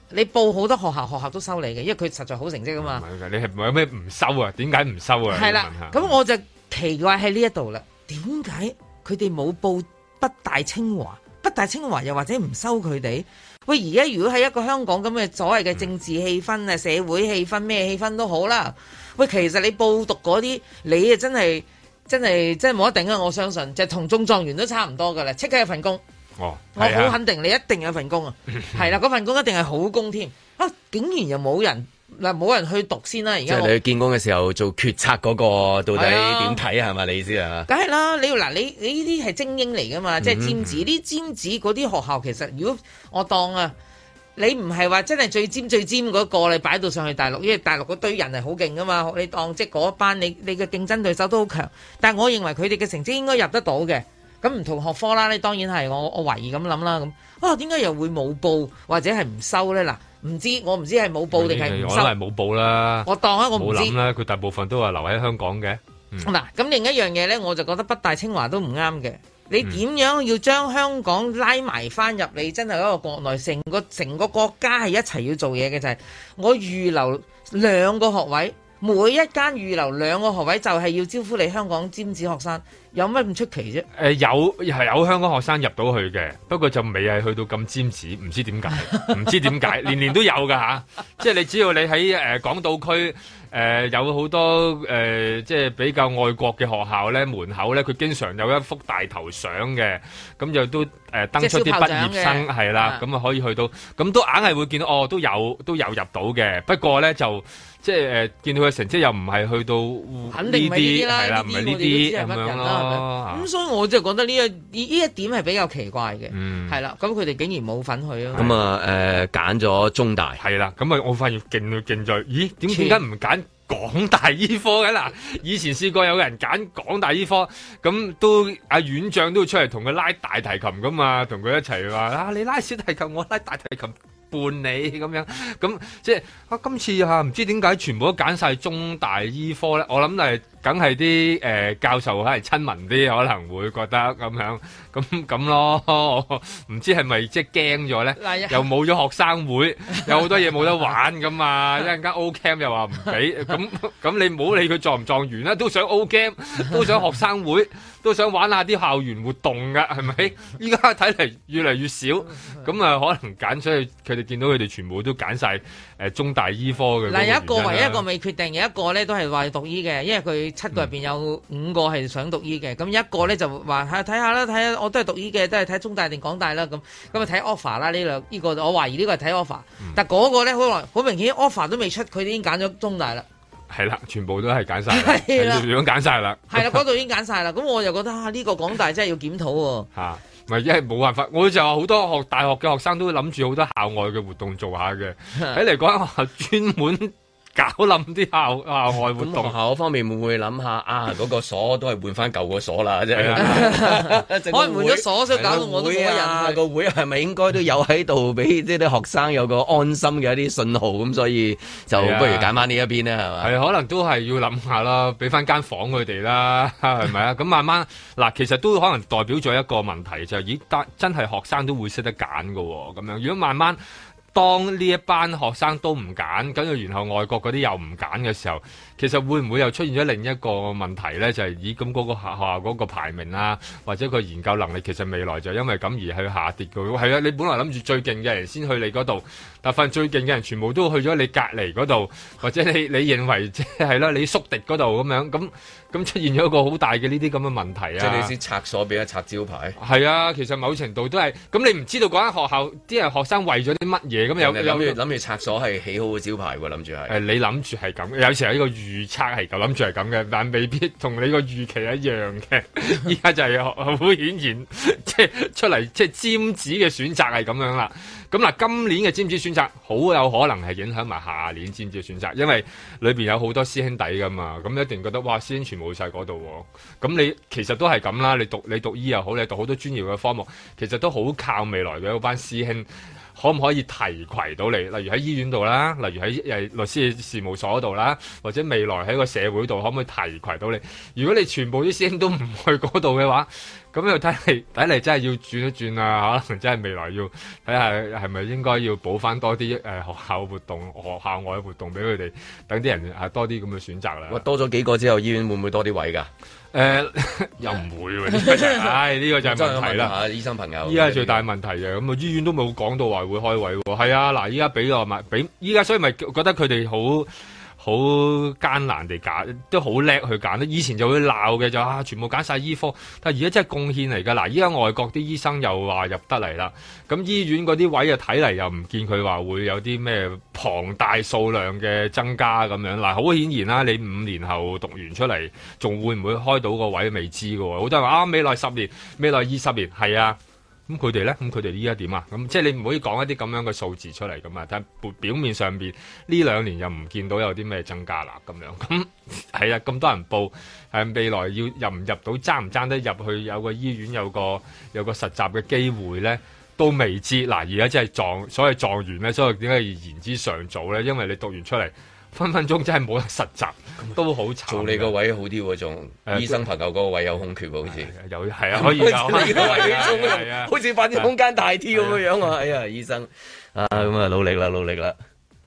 Speaker 4: 你報好多學校都收你嘅，因為佢實在好成績啊嘛。
Speaker 3: 唔係㗎，你係有咩唔收啊？點解唔收啊？
Speaker 4: 係啦，咁我就奇怪喺呢一度啦，點解佢哋冇報北大清華？北大清華又或者唔收佢哋？喂，而家如果係一個香港咁嘅所謂嘅政治氣氛啊、社會氣氛咩氣氛都好啦。喂，其實你報讀嗰啲，你啊真係冇得頂啊！我相信就同中狀元都差唔多噶啦，即刻有份工。
Speaker 3: 哦，
Speaker 4: 我好肯定你一定有份工啊！係啦，嗰份工一定係好工添啊！竟然又冇人去讀先啦！而家
Speaker 2: 即係你去見工嘅時候做決策嗰個到底點睇啊？係咪你意思啊？
Speaker 4: 梗係啦！你呢啲係精英嚟噶嘛？即係尖子，啲尖子嗰啲學校其實，如果我當啊，你唔係話真係最尖嗰個你擺到上去大陸，因為大陸嗰堆人係好勁噶嘛。你當即嗰班你嘅競爭對手都好強，但係我認為佢哋嘅成績應該入得到嘅。咁唔同學科啦，你當然係我懷疑咁諗啦。咁點解又會冇報或者係唔收咧？嗱，我唔知係冇報定係唔收。
Speaker 3: 我都係冇報啦。
Speaker 4: 我當我唔知。冇諗
Speaker 3: 啦，佢大部分都話留喺香港嘅。
Speaker 4: 嗱，咁另一樣嘢咧，我就覺得北大清華都唔啱嘅。你點樣要將香港拉埋翻入嚟？真係一個國內成個國家係一齊要做嘢嘅，就係我預留2個學位。每一間預留2個學位就係要招呼你香港尖子學生，有乜咁出奇啫？
Speaker 3: 有香港學生入到去嘅，不過就未係去到咁尖子，唔知點解，年都有㗎嚇。即係你只要你喺港島區有好多即係比較愛國嘅學校咧，門口咧佢經常有一幅大頭相嘅，咁就都登出啲畢業生係啦，咁啊可以去到，咁都硬係會見到都有入到嘅，不過咧就。即係見到佢成績又唔係去到
Speaker 4: 肯定唔係呢啲啦，
Speaker 3: 係啦，唔係呢啲咁樣咯。
Speaker 4: 咁所以我就覺得呢一點係比較奇怪嘅，係啦。咁佢哋竟然冇份去咯。咁
Speaker 2: 啊揀咗中大
Speaker 3: 係啦。咁啊我發現勁在，咦點解唔揀港大醫科嘅嗱？以前試過有人揀港大醫科，咁都阿院長都會出嚟同佢拉大提琴噶嘛，同佢一齊話你拉小提琴，我拉大提琴。伴你咁樣，咁即係今次唔知點解全部都揀晒中大醫科咧？我諗係梗係啲教授係親民啲，可能會覺得咁咯。唔知係咪即係驚咗咧？又冇咗學生會，有好多嘢冇得玩噶嘛。一陣間 O Camp 又話唔俾，咁你唔好理佢狀唔狀元啦，都想 O Camp，都想學生會，都想玩下啲校園活動噶，係咪？依家睇嚟越嚟越少，咁可能揀出去佢哋。見到佢哋全部都揀晒中大醫科嘅。
Speaker 4: 嗱，有一個唯一一個未決定，有一個咧都係話讀醫嘅，因為佢7個入邊有5個係想讀醫嘅，咁一個咧就話睇下啦，睇下我都係讀醫嘅，都係睇中大定港大啦，咁啊睇 offer 啦，呢個我懷疑呢個係睇 offer，但嗰個咧好明顯 offer 都未出，佢已經揀咗中大啦。
Speaker 3: 係啦，全部都係揀晒，係啦，樣揀晒啦。
Speaker 4: 係啦，嗰度已經揀晒啦，咁我就覺得呢個港大真係要檢討喎。
Speaker 3: 嚇！咪因為冇辦法，我就話好多大學嘅學生都諗住好多校外嘅活動做下嘅，喺嚟講學校專門搞冧啲校外活動。
Speaker 2: 學校方面會唔會諗下嗰個鎖都係換翻舊個鎖啦？即係
Speaker 4: 可能換咗鎖，所以搞到我都冇人。
Speaker 2: 個會係咪應該都有喺度俾即係啲學生有個安心嘅一啲信號咁？所以就不如揀翻呢一邊咧，係嘛？
Speaker 3: 係可能都係要諗下啦，俾翻間房佢哋啦，係咪啊？咁慢慢嗱，其實都可能代表咗一個問題，就係咦，真係學生都會識得揀噶喎，咁樣如果慢慢。當呢一班學生都唔揀，跟住然後外國嗰啲又唔揀嘅時候，其實會唔會又出現咗另一個問題咧？就係咦咁嗰個學校嗰個排名啊，或者個研究能力，其實未來就因為咁而去下跌嘅。係啊，你本來諗住最勁嘅人先去你嗰度，但係發現最勁嘅人全部都去咗你隔離嗰度，或者你認為即係啦，你宿敵嗰度咁樣咁出現咗一個好大嘅呢啲咁嘅問題啊！
Speaker 2: 即係你先拆鎖俾一拆招牌。
Speaker 3: 係啊，其實某程度都係咁，你唔知道嗰間學校啲學生為咗啲乜嘢咁有
Speaker 2: 諗住拆鎖係起好嘅招牌喎，諗住係。
Speaker 3: 你諗住係咁，有時候呢個預測係咁，諗住係咁嘅，但未必同你個預期一樣嘅。依家就係好顯然，即係出嚟即係尖子嘅選擇係咁樣啦。咁嗱，今年嘅尖子選擇好有可能係影響埋下年尖子嘅選擇，因為裏邊有好多師兄弟噶嘛，咁一定覺得哇，師兄全部去晒嗰度喎。咁你其實都係咁啦，你讀醫又好，你讀好多專業嘅科目，其實都好靠未來嘅嗰班師兄。可唔可以提攜到你？例如喺醫院度啦，例如喺律師事務所度啦，或者未來喺個社會度，可唔可以提攜到你？如果你全部啲師兄都唔去嗰度嘅話， 咁又睇嚟真係要轉一轉啊！可能真係未來要睇下係咪應該要補翻多啲學校活動、學校外活動俾佢哋，等啲人多啲咁嘅選擇啦。
Speaker 2: 哇！多咗幾個之後，醫院會唔會多啲位㗎？
Speaker 3: 又唔會喎，呢個就係問題啦。
Speaker 2: 醫生朋友，
Speaker 3: 依家最大問題嘅，咁醫院都冇講到話會開位喎。係啊，嗱，依家俾依家，所以咪覺得佢哋好艱難地揀，都好叻去揀。以前就會鬧嘅就全部揀晒醫科，但係而家真係貢獻嚟㗎。嗱，依家外國啲醫生又話入得嚟啦，咁醫院嗰啲位啊睇嚟又唔見佢話會有啲咩龐大數量嘅增加咁樣。嗱，好顯然啦，你5年後讀完出嚟，仲會唔會開到個位未知㗎喎。好多人話未來10年、未來20年，係啊。咁佢哋咧，咁佢哋依家點啊？咁即係你唔可以講一啲咁樣嘅數字出嚟㗎嘛？但係表面上邊呢2年又唔見到有啲咩增加啦咁樣。咁係啊，咁多人報，未來要入唔入到，爭唔爭得入去有個醫院有個實習嘅機會咧，都未知。嗱，而家真係所謂狀元咧，所以點解要言之尚早咧？因為你讀完出嚟，分分鐘真係冇得實習，都好慘。
Speaker 2: 做你個位好啲喎，仲醫生朋友嗰個位有空缺喎，好似
Speaker 3: 有係啊，可以有。你個位
Speaker 2: 係啊，好似發展空間大啲咁嘅樣啊！哎呀，醫生啊，咁啊，努力啦，努力啦！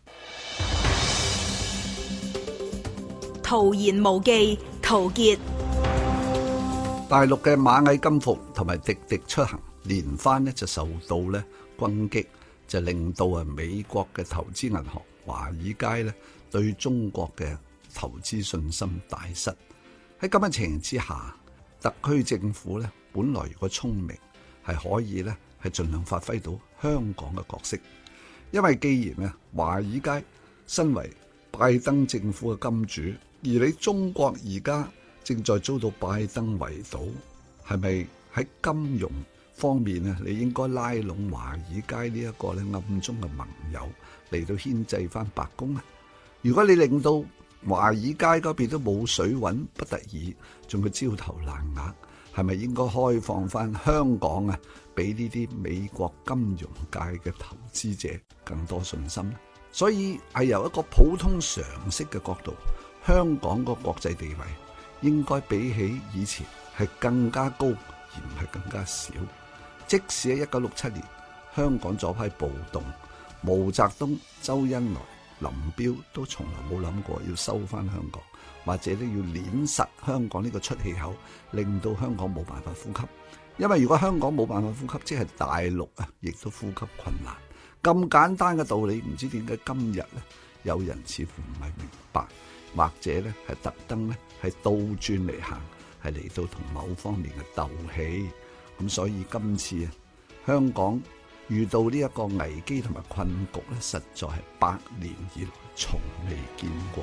Speaker 6: 陶言無忌，陶傑。
Speaker 7: 大陸嘅螞蟻金服同埋滴滴出行連番呢就受到呢攻擊，就令到美國嘅投資銀行華爾街呢對中國嘅投資信心大失。喺咁嘅情形之下，特區政府呢本來如果聰明係可以呢係盡量發揮到香港嘅角色，因為既然呢華爾街身為拜登政府嘅金主，而你中國而家正在遭到拜登圍堵，係咪喺金融方面呢你應該拉攏華爾街呢一個呢暗中嘅盟友嚟到牽制翻白宮呢？如果你令到華爾街嗰邊都冇水揾，不得已仲要焦頭爛額，係咪應該開放翻香港啊，俾呢啲美國金融界嘅投資者更多信心呢？所以係由一個普通常識嘅角度，香港個國際地位應該比起以前係更加高，而唔係更加少。即使喺1967年香港左派暴動，毛澤東、周恩來、林彪都從來冇諗過要收翻香港，或者都要碾實香港呢個出氣口，令到香港冇辦法呼吸。因為如果香港冇辦法呼吸，即係大陸啊，亦都呼吸困難。咁簡單嘅道理，唔知點解今日呢有人似乎唔係明白，或者呢係特登呢係倒轉嚟行，係嚟到同某方面嘅鬥氣。咁所以今次啊，香港遇到呢一個危機同埋困局咧，實在係100年以來從未見過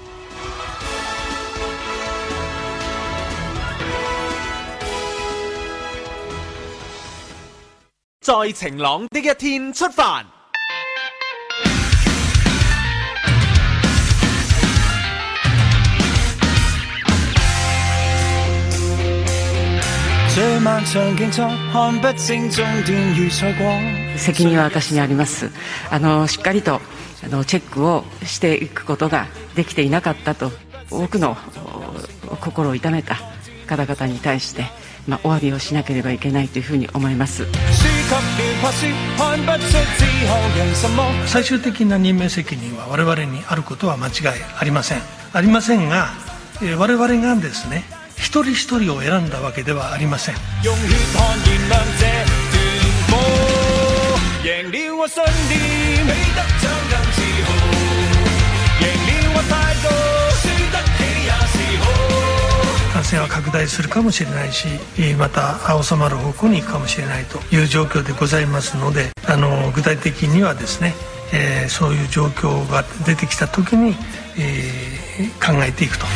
Speaker 1: 嘅。在晴朗的一天出發。
Speaker 8: 最漫長競賽看不清終段預賽過。
Speaker 9: 責任は私にあります。しっかりとチェックをしていくことができていなかったと、多くの心を痛めた方々に対して、お詫びをしなければいけないというふうに思います。
Speaker 8: 最終的な任命責任は我々にあることは間違いありません。ありませんが、我々がですね、一人一人を選んだわけではありません。用血汗燃亮這段波，贏了我信念，起得獎更自豪，贏了我態度，輸得起也是好。感染は拡大するかもしれないし、また収まる方向に行くかもしれないという状況でございますので、具体的にはですね、そういう状況が出てきた時に、考えていくと。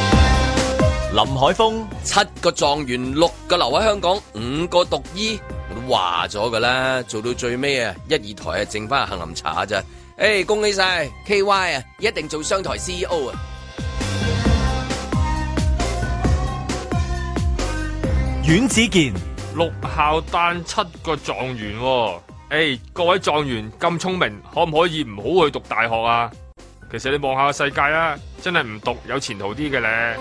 Speaker 1: 林海峰，
Speaker 2: 7個狀元，6個留喺香港，5個讀醫。 都話咗噶啦，做到最尾啊，1、2台啊，剩翻杏林茶咋？恭喜晒 KY 啊，一定做商台 CEO 啊！
Speaker 1: 阮子健
Speaker 3: 6校誕7個狀元喎，各位狀元咁聰明，可唔可以唔好去讀大學啊？其實你望下個世界啊，真係唔讀有前途啲嘅咧。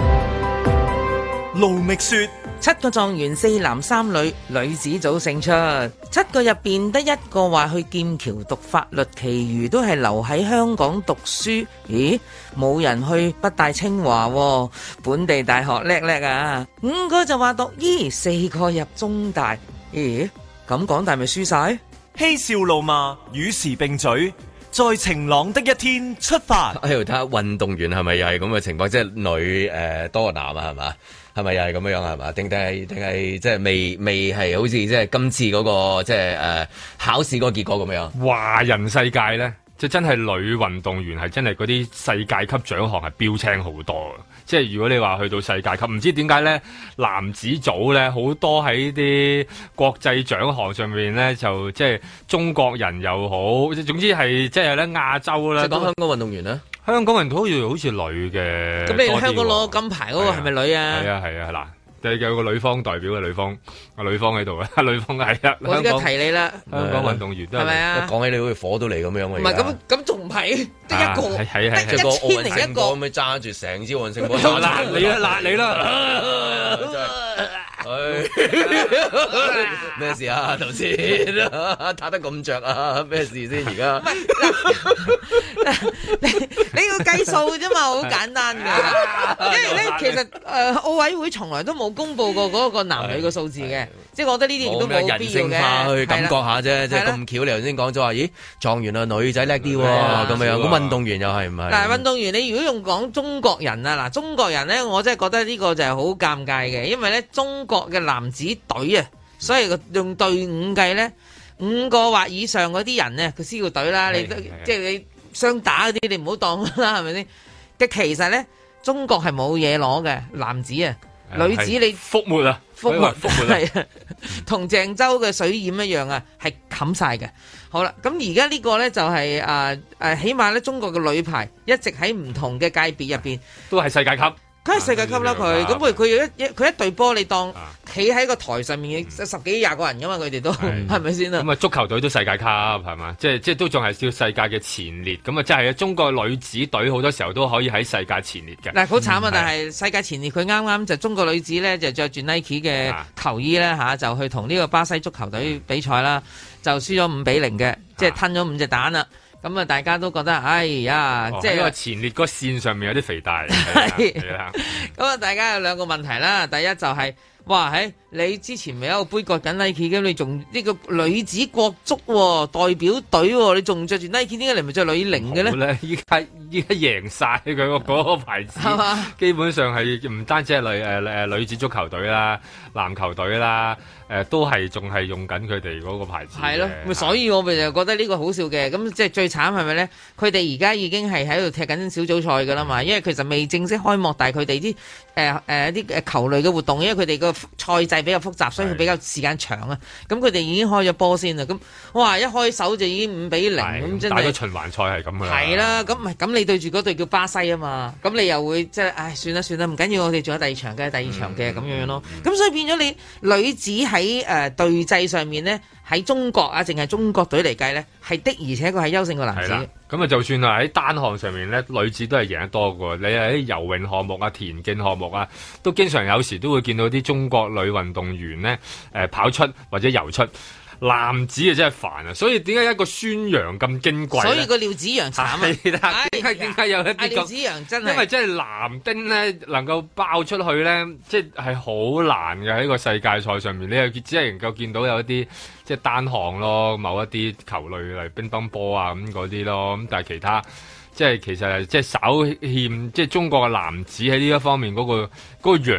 Speaker 1: 盧覓雪
Speaker 4: 7個狀元4男3女，女子組勝出，7個入邊得1個話去劍橋讀法律，其餘都係留喺香港讀書。咦，冇人去北大清華，本地大學叻叻啊！5個就話讀醫，4個入中大。咦，咁港大咪輸晒？
Speaker 1: 嬉笑怒罵與時並舉，在晴朗的一天出發。
Speaker 2: 喺度睇下運動員係咪又係咁嘅情況，即係女多過男啊，係嘛？係咪又係咁樣係嘛？定係即係未係好似即係今次嗰個即係考試嗰個結果咁樣？
Speaker 3: 華人世界咧，即係真係女運動員係真係嗰啲世界級獎項係標青好多。即係如果你話去到世界級，唔知點解咧，男子組咧好多喺啲國際獎項上面咧，就即係中國人又好，總之係即係咧亞洲啦。
Speaker 2: 即係講香港運動員咧，
Speaker 3: 香港人好似女嘅。
Speaker 4: 咁你香港攞金牌嗰個係咪女啊？
Speaker 3: 係啊，嗱。有個女方代表嘅女方喺度啊，女方係啊。
Speaker 4: 我而家提你啦，
Speaker 3: 香港運動員都係
Speaker 4: 咪啊？
Speaker 2: 講起你好似火都嚟咁樣嘅。
Speaker 4: 唔係咁仲唔係得一個？
Speaker 2: 係即係個奧運聖火咁樣揸住成支奧運聖火。
Speaker 3: 辣你啦！
Speaker 2: 咩事啊？頭先打得咁着啊？咩事先？而家
Speaker 4: 你要計數啫嘛，好簡單㗎。因為咧，其實奧委會從來都冇公佈過嗰個男女嘅數字嘅，即係我覺得呢啲亦都冇必要嘅。
Speaker 2: 人性化去感覺下啫，即係咁巧。你頭先講咗話，咦，狀元啊女仔叻啲喎，咁樣咁運動員又係唔係？
Speaker 4: 嗱，運動員你如果用講中國人啊，嗱，中國人咧，我真係覺得呢個就係好尷尬嘅，因為咧中國嘅男子隊啊，所以用隊伍計咧，5個或以上嗰啲人咧，佢先叫隊啦。你即係你雙打嗰啲，你唔好當啦，係咪先？嘅其實咧，中國係冇嘢攞嘅，男子啊，女子你
Speaker 3: 覆沒啊，
Speaker 4: 覆沒係啊，同鄭州嘅水淹一樣啊，係冚晒嘅。好啦，咁而家呢個咧就係起碼咧中國嘅女排一直喺唔同嘅界別入邊
Speaker 3: 都係世界級。
Speaker 4: 梗係世界級啦佢，咁佢一隊波你當企喺個台上面10幾20個人噶嘛，佢哋都係咪先啊？
Speaker 3: 咁啊足球隊都世界級係嘛？即係都仲係叫世界嘅前列，咁啊即係中國女子隊好多時候都可以喺世界前列嘅。
Speaker 4: 嗱，好慘啊！但係世界前列佢啱啱就中國女子咧就着住 Nike 嘅球衣咧嚇，就去同呢個巴西足球隊比賽啦，就輸咗5-0嘅，即係吞咗5隻蛋啦。咁啊，大家都覺得，哎呀，即係
Speaker 3: 因為前列嗰線上面有啲肥大。
Speaker 4: 係啦。咁啊，大家有2個問題啦。第一就係，哇，你之前咪有個杯葛緊 Nike 咁，你仲呢個女子國足代表隊，你仲着住 Nike，點解你唔着女零嘅咧？
Speaker 3: 依家贏晒佢嗰個牌子，基本上係唔單止係女子足球隊啦、籃球隊啦。都係仲係用緊佢哋嗰個牌子。係咯，
Speaker 4: 所以我咪就覺得呢個好笑嘅。咁即係最慘係咪咧？佢哋而家已經係喺度踢緊小組賽㗎啦嘛。因為其實未正式開幕，但係佢哋啲啲球類嘅活動，因為佢哋個賽制比較複雜，所以佢比較時間長啊。咁佢哋已經開咗波先啦。咁哇，一開手就已經5-0咁，真係。打個
Speaker 3: 循環賽係咁㗎。
Speaker 4: 係啦，咁唔係咁你對住嗰隊叫巴西啊嘛，咁你又會即係唉算啦，唔緊要，我哋仲有第二場嘅咁樣咯。咁所以變咗你女子喺隊制上面咧，喺中國啊，淨係中國隊嚟計咧，係的，而且佢係優勝過男子。
Speaker 3: 咁啊，就算係喺單項上面咧，女子都係贏得多嘅。你喺游泳項目啊、田徑項目啊，都經常有時都會見到啲中國女運動員咧，跑出或者游出。男子啊真係煩啊，所以點解一個孫楊咁矜貴？所
Speaker 4: 以個廖子陽慘啊！
Speaker 3: 點解有一啲
Speaker 4: 廖子陽真係，
Speaker 3: 因為真係男丁咧能夠爆出去咧，即係好難嘅喺個世界賽上面，你又只係能夠見到有一啲即係單項咯，某一啲球類例乒乓波啊咁嗰啲咯，咁但係其他即係其實即係稍欠，即係中國嘅男子喺呢一方面嗰個洋啊。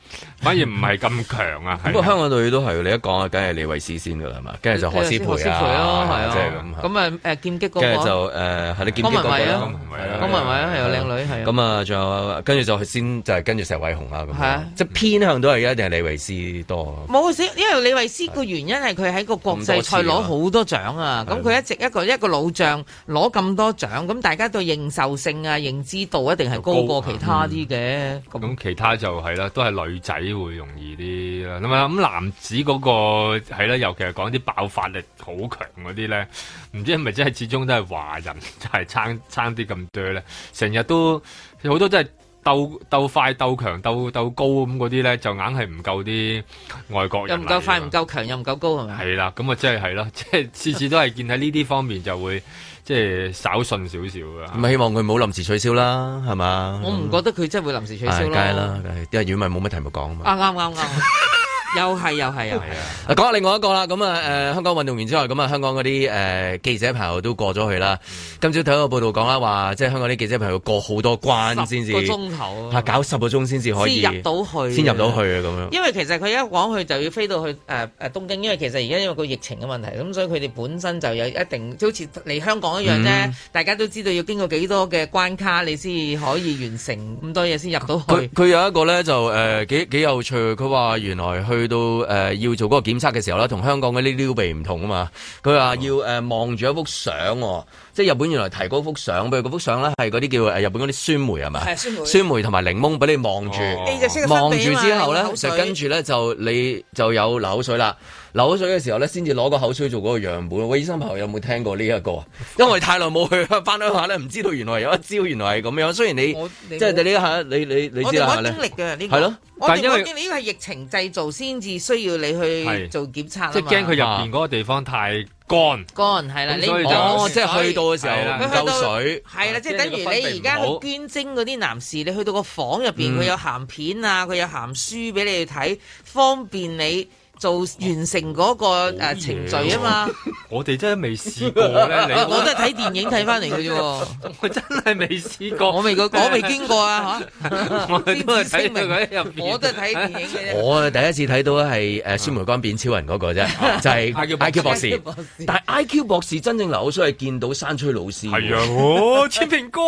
Speaker 3: 反而唔係咁強啊。
Speaker 2: 不過香港隊都係，你一講啊，梗係李慧詩先噶啦，係嘛？跟住就何詩蓓啊，係啊，即係咁。
Speaker 4: 咁啊劍擊嗰個，
Speaker 2: 跟住就係你劍擊嗰個啦，
Speaker 4: 江文慧係有靚女係。
Speaker 2: 咁啊，仲有跟住就先就係跟住石偉雄啊咁。係啊，即係偏向都係一定係李慧詩多。
Speaker 4: 冇先，因為李慧詩個原因係佢喺個國際賽攞好多獎啊。咁佢一直一個老將攞咁多獎，咁大家對認受性啊、認知度一定係高過其他啲嘅。
Speaker 3: 咁其他就係啦，都係女仔會容易啲啦。咁男子嗰個係啦，尤其係講啲爆發力好強嗰啲咧，唔知係咪真係始終都係華人，就係撐啲咁多咧，成日都好多都係鬥快、鬥強、鬥高咁嗰啲咧，就硬係唔夠啲外國人。又唔夠
Speaker 4: 快、唔夠強、又唔夠高係咪？
Speaker 3: 係啦，咁啊，即係咯，即係次次都係見喺呢啲方面就會即係稍遜少少㗎。
Speaker 2: 咁希望佢唔好臨時取消啦，係嘛？
Speaker 4: 我唔覺得佢真係會臨時取消咯。
Speaker 2: 梗係啦，因為如果唔係冇乜題目講啊
Speaker 4: 嘛。啱。又係啊！
Speaker 2: 講下另外一個啦，咁香港運動員之外，咁香港嗰啲記者朋友都過咗去啦。今朝睇個報道講啦，話即係香港啲記者朋友過好多關先至
Speaker 4: 10個鐘頭
Speaker 2: 搞10個鐘先至可以
Speaker 4: 先入到去
Speaker 2: 啊咁樣。
Speaker 4: 因為其實佢一講去就要飛到去東京，因為其實而家因為個疫情嘅問題，咁所以佢哋本身就有一定，好似嚟香港一樣啫。大家都知道要經過幾多嘅關卡，你先可以完成咁多嘢先入到去。
Speaker 2: 佢有一個咧就幾有趣，佢話原來去到要做嗰個檢測嘅時候咧，同香港嗰啲撩鼻唔同啊嘛。佢話要望住一幅相，即係日本原來提嗰幅相，譬如嗰幅相咧係嗰啲叫日本嗰啲酸梅係咪？酸梅同埋檸檬俾你望住，望住之後咧就跟住咧就你就有流口水啦。流口水嘅時候咧，先至攞個口水做嗰個樣本。喂，醫生朋友有冇聽過呢一個啊？因為太耐冇去翻鄉下咧，唔知道原來有一招，原來係咁樣。雖然你即係你呢下你知啦，
Speaker 4: 我經歷嘅呢個係咯。但係因為呢個係疫情製造先至需要你去做檢測，
Speaker 3: 即係驚佢入邊嗰個地方太乾
Speaker 4: 係啦。你
Speaker 2: 即係去到嘅時候唔夠水
Speaker 4: 係啦，即係等於你而家去捐精嗰啲男士，你去到個房入邊，佢有鹹片啊，佢有鹹書俾你去睇，方便你做完成嗰個程序啊嘛。
Speaker 3: 我哋真係未試過咧，
Speaker 4: 我都係睇電影睇翻嚟嘅啫。
Speaker 3: 我真係未試過，
Speaker 4: 我未經過啊嚇。
Speaker 3: 我都係睇佢喺入邊，
Speaker 4: 我都係睇電影嘅啫。
Speaker 2: 我第一次睇到係酸梅乾變超人嗰個啫，就係 IQ 博士。但係 IQ 博士真正流口水係見到山吹老師。
Speaker 3: 係啊，千蘋哥。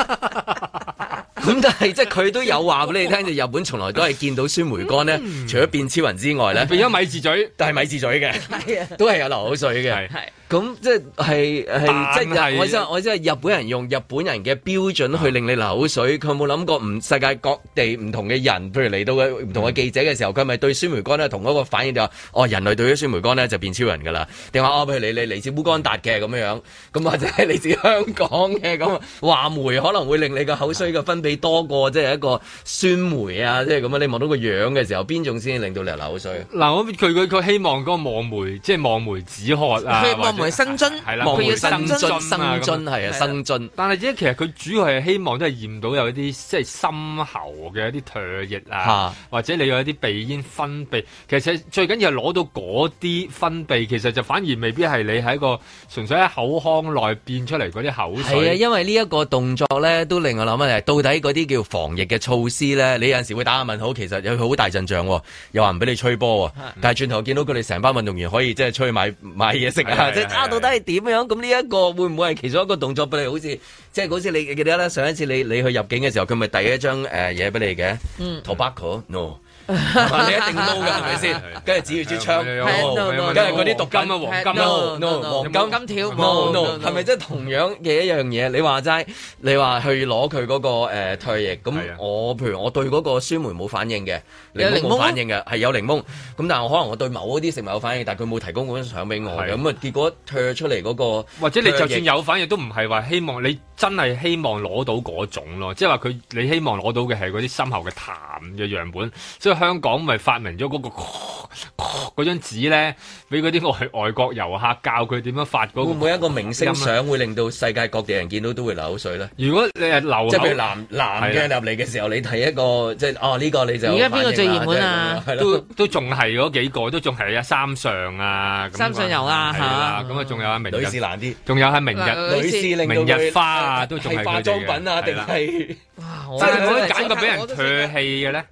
Speaker 2: 咁但係即係佢都有話俾你聽，就日本從來都係見到酸梅乾咧，除咗變超人之外咧，
Speaker 3: 變咗米字嘴，
Speaker 2: 但係米字嘴嘅，都係有流口水嘅。咁即係即係我真係日本人用日本人嘅標準去令你流口水，佢有冇諗過世界各地唔同嘅人，譬如嚟到嘅唔同嘅記者嘅時候，佢係咪對酸梅乾咧同嗰個反應就話人類對於酸梅乾咧就變超人㗎啦？定話譬如你嚟自烏干達嘅咁樣，咁或者係嚟自香港嘅咁話梅可能會令你個口水嘅分泌多過即係一個酸梅啊，即係咁樣你望到個樣嘅時候，邊種先令到你流口水？
Speaker 3: 嗱，佢希望嗰個望梅即係望梅止渴啊。
Speaker 4: 望梅生津係啦，
Speaker 2: 望梅生津係啊，生津。
Speaker 3: 但係其實佢主要係希望都係驗到有一啲即係深喉嘅一啲唾液啊，或者你有一啲鼻煙分泌。其實最緊要係攞到嗰啲分泌，其實就反而未必係你喺一個純粹喺口腔內變出嚟嗰啲口水。
Speaker 2: 係啊，因為呢一個動作咧，都令我諗啊，到底嗰啲叫防疫嘅措施咧，你有陣時會打下問號，其實有好大陣仗，又話唔俾你吹波，但係轉頭見到佢哋成班運動員可以即係出去買嘢食啊，即係到底係點樣？咁呢一個會唔會係其中一個動作俾你？好似即係好似你記得咧，上一次你去入境嘅時候，佢咪遞一張嘢俾你嘅？Tobacco no， 你一定 no 㗎係咪先？跟住指住支槍，跟住嗰啲毒金啊，黃金 no， 黃金條 no， 係咪即係同樣嘅一樣嘢？你話齋，你話去攞佢嗰個唾液，咁我譬如我對嗰個酸梅冇反應嘅，檸檬冇反應嘅，係有檸檬，咁但係我可能我對某啲食物有反應，但係佢冇提供嗰張相俾我嘅，咁啊結果唾出嚟嗰個，
Speaker 3: 或者你就算有反應都唔係話希望你真係希望攞到嗰種咯，即係話你希望攞到嘅係嗰啲深喉嘅痰嘅樣本，所以香港咪發明咗嗰張紙咧，俾嗰啲外國遊客教佢點樣發嗰個。會唔會一個明星相會令到世界各地人見到都會流口水咧？如果你係流口，即係譬如男嘅入嚟嘅時候，你睇一個即係呢個你就而家邊個最熱門啊？都仲係嗰幾個，都仲係三上啊，三上游啊嚇，咁啊仲有阿明日，女士難啲，仲有係明日花啊，都仲係化妝品啊，定係即係可以揀個俾人唾棄嘅咧？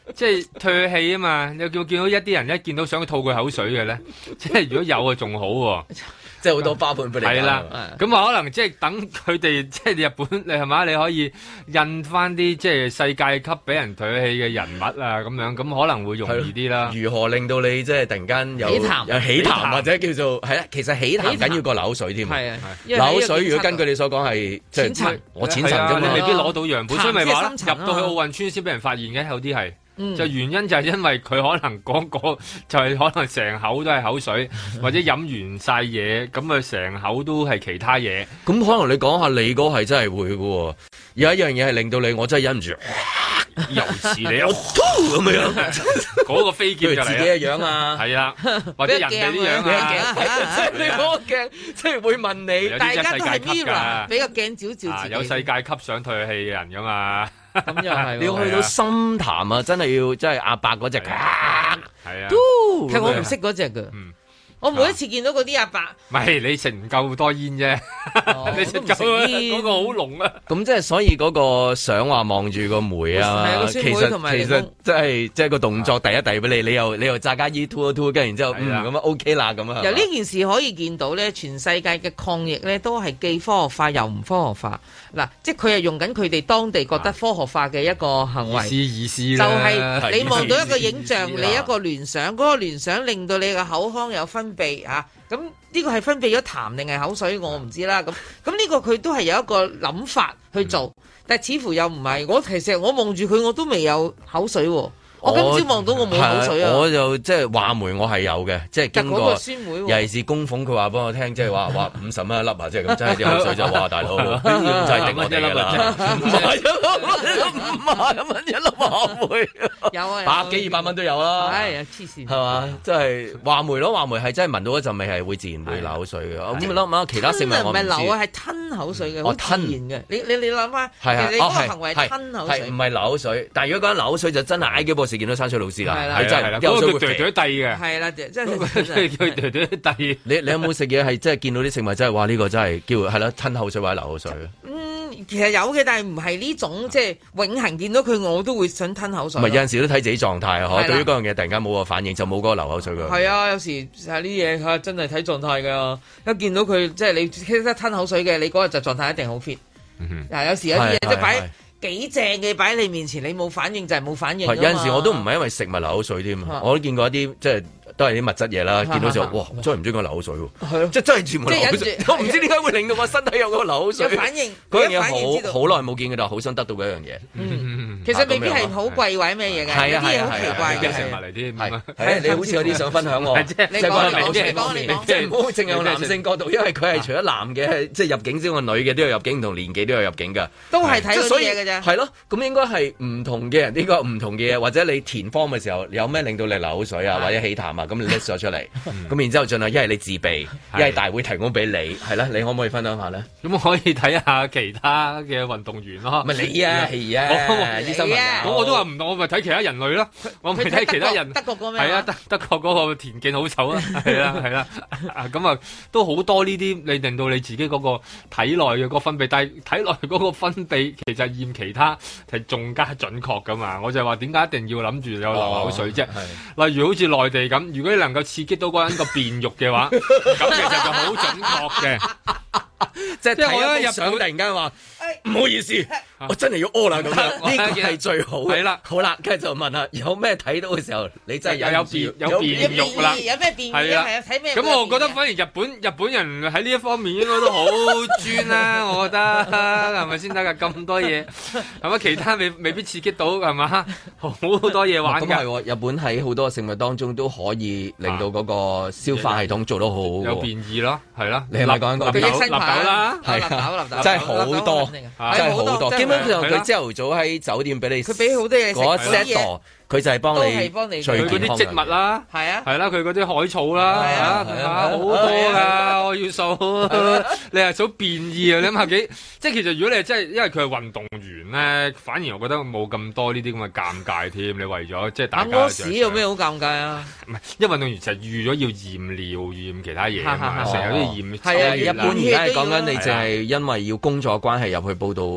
Speaker 3: 即係唾棄啊嘛！你有見到一啲人一見到想吐佢口水嘅咧，即係如果有啊仲好喎。
Speaker 2: 即係好多花盆俾你揀。係啦，
Speaker 3: 咁啊可能即係等佢哋即係日本，你係嘛？你可以印翻啲即係世界級俾人唾棄嘅人物啊，咁樣咁可能會容易啲啦。
Speaker 2: 如何令到你即係突然間有起痰或者叫做係啦？其實起痰緊要過流口水添。係啊，流口水如果根據你所講係即係我淺層啫嘛，你未必攞到樣本，所以咪話入到去奧運村先俾人發現嘅，有啲係。就原因就係因為佢可能嗰個就係可能成口都係口水，或者飲完晒嘢，咁啊成口都係其他嘢。 咁可能你講下你嗰係真係會嘅喎，有一樣嘢係令到你我真係忍唔住，
Speaker 3: 又似你咁樣，嗰個飛劍就嚟
Speaker 2: 自己嘅樣啊，
Speaker 3: 係啊，或者人哋啲樣啊，
Speaker 2: 即係你嗰個鏡，即係會問你，
Speaker 4: 大家都係 mirror，俾個鏡照照自己，
Speaker 3: 有世界級想唾棄嘅人噶嘛。
Speaker 4: 咁又係，
Speaker 2: 你要去到深潭啊！真係要，真係阿伯嗰隻，係啊，
Speaker 4: 其實我唔識嗰隻㗎。我每一次見到嗰啲阿伯，
Speaker 3: 唔係你食唔夠多煙啫，你食夠嗰個好濃啊！
Speaker 2: 咁即係所以嗰個想話望住個梅啊，其實即係個動作第一遞俾你，你又炸家衣吐一吐，跟住然之後咁啊 OK 啦咁啊。
Speaker 4: 由呢件事可以見到咧，全世界嘅抗疫咧都係既科學化又唔科學化。嗱，即係佢係用緊佢哋當地覺得科學化嘅一個行為，
Speaker 3: 意思
Speaker 4: 就係你望到一個影像，你一個聯想，嗰個聯想令到你嘅口腔有分泌啊，咁呢個係分泌咗痰定係口水，我唔知啦。咁呢個佢都係有一個諗法去做，但係似乎又唔係。其實我望住佢，我都未有口水喎。我今朝望到我冇口水啊！
Speaker 2: 我就即係話梅，我係有嘅，即係經過。尤其是供奉佢話俾我聽，即係話50蚊一粒啊，即係咁，真係啲口水就話大佬，呢啲就係頂我哋㗎啦。50蚊一粒話梅，
Speaker 4: 有啊，
Speaker 2: 100幾200蚊都有啦。
Speaker 4: 係啊，黐線
Speaker 2: 係嘛？即係話梅咯，話梅係真係聞到一陣味係會自然會流口水嘅。咁諗諗其他食物我唔知。唔係流啊，係吞口水嘅，好自然嘅。你諗下，其實你嗰個行為係吞口水，唔係流口水。但係如果講流口水就真係挨幾波。時見到山水老師啦，
Speaker 3: 係真係，嗰個叫嗲嗲地嘅，
Speaker 4: 係啦，真係
Speaker 3: 叫嗲嗲地。
Speaker 2: 你有冇食嘢係真係見到啲食物真係話呢個真係叫係啦吞口水或者流口水？
Speaker 4: 其實有嘅，但係唔係呢種即係永恆見到佢我都會想吞口水。
Speaker 2: 唔係有陣時都睇自己狀態啊！對於嗰樣嘢突然間冇個反應，就冇嗰個流口水㗎。
Speaker 4: 係啊，有時係呢嘢嚇真係睇狀態㗎。一見到佢即係你識得吞口水嘅，你嗰日就狀態一定好 fit。嗱，有時有啲嘢即係擺幾正嘅擺喺你面前，你冇反應就係冇反應。有
Speaker 2: 陣時我都唔係因為食物流口水添，我都見過一啲即係都係啲物質嘢啦。見到時候哇，真係唔中意講流口水喎，即係真係全部流口水。我唔知點解會令到我身體有個流口水
Speaker 4: 反應。
Speaker 2: 嗰樣嘢好耐冇見嘅，但係好想得到嗰樣嘢。
Speaker 4: 其實未必係好貴或者咩嘢嘅，啲嘢好奇怪嘅。
Speaker 3: 食物嚟添，
Speaker 2: 係你好似有啲想分享喎。
Speaker 4: 你講，
Speaker 2: 即係唔好淨係用男性角度，因為佢係除咗男嘅，即係入境之外，女嘅都有入境，唔同年紀都有入境㗎。
Speaker 4: 都係睇嗰啲嘢嘅啫。
Speaker 2: 係咯，咁應該係唔同嘅人，呢個唔同嘅嘢，或者你填方嘅時候有咩令到你流口水啊，或者起痰啊，咁你 list 咗出嚟，咁然之後盡量一係你自備，一係大會提供俾你，係啦，你可唔可以分享下咧？
Speaker 3: 咁可以睇下其他嘅運動員咯。
Speaker 2: 唔係你啊，係啊，醫生啊，
Speaker 3: 咁我都話唔同，我咪睇其他人類咯，我咪睇其他人。
Speaker 4: 德國嗰咩？
Speaker 3: 係啊，德國嗰個田徑好醜啊，係啦係啦，咁啊都好多呢啲，你令到你自己嗰個體內嘅個分泌，但係體內嗰個分泌其實驗其他係仲加準確噶嘛，我就話點解一定要諗住有流口水啫？例如好似內地咁，如果你能夠刺激到嗰人個便肉嘅話，咁其實就好準確嘅。
Speaker 2: 即係睇一入相突然間話唔好意思，我真係要屙啦咁樣，呢個係最好嘅。係啦，好啦，跟住就問下有咩睇到嘅時候，你真係有便肉啦，
Speaker 4: 有咩便意啊？係啊，睇咩？
Speaker 3: 咁我覺得反而日本人喺呢一方面應該都好專啦，我覺得係咪先得㗎？咁多嘢係咪？其他未必刺激到係嘛？好多嘢玩㗎。咁係喎，
Speaker 2: 日本喺好多食物當中都可以令到嗰個消化系統做得好，
Speaker 3: 有便意咯，係啦。
Speaker 2: 你係咪講緊
Speaker 3: 立豆啦，
Speaker 2: 係真係好多，真係好多。基本上佢朝頭早喺酒店俾你，
Speaker 4: 佢俾好多嘢食
Speaker 2: 嗰 set 佢就係幫你
Speaker 3: 佢嗰啲植物啦，係啊，係啦，佢嗰啲海草啦，好多㗎，我要數。你係數變異啊？你諗下幾？即係其實如果你係真係，因為佢係運動員咧，反而我覺得冇咁多呢啲咁嘅尷尬添。你為咗即係大家
Speaker 4: 屙屎有咩好尷尬啊？
Speaker 3: 唔係，因為運動員就係預咗要驗尿、驗其他嘢啊嘛，成日都要驗。
Speaker 2: 係啊，一般而家係講緊你就係因為要工作關係入去報到。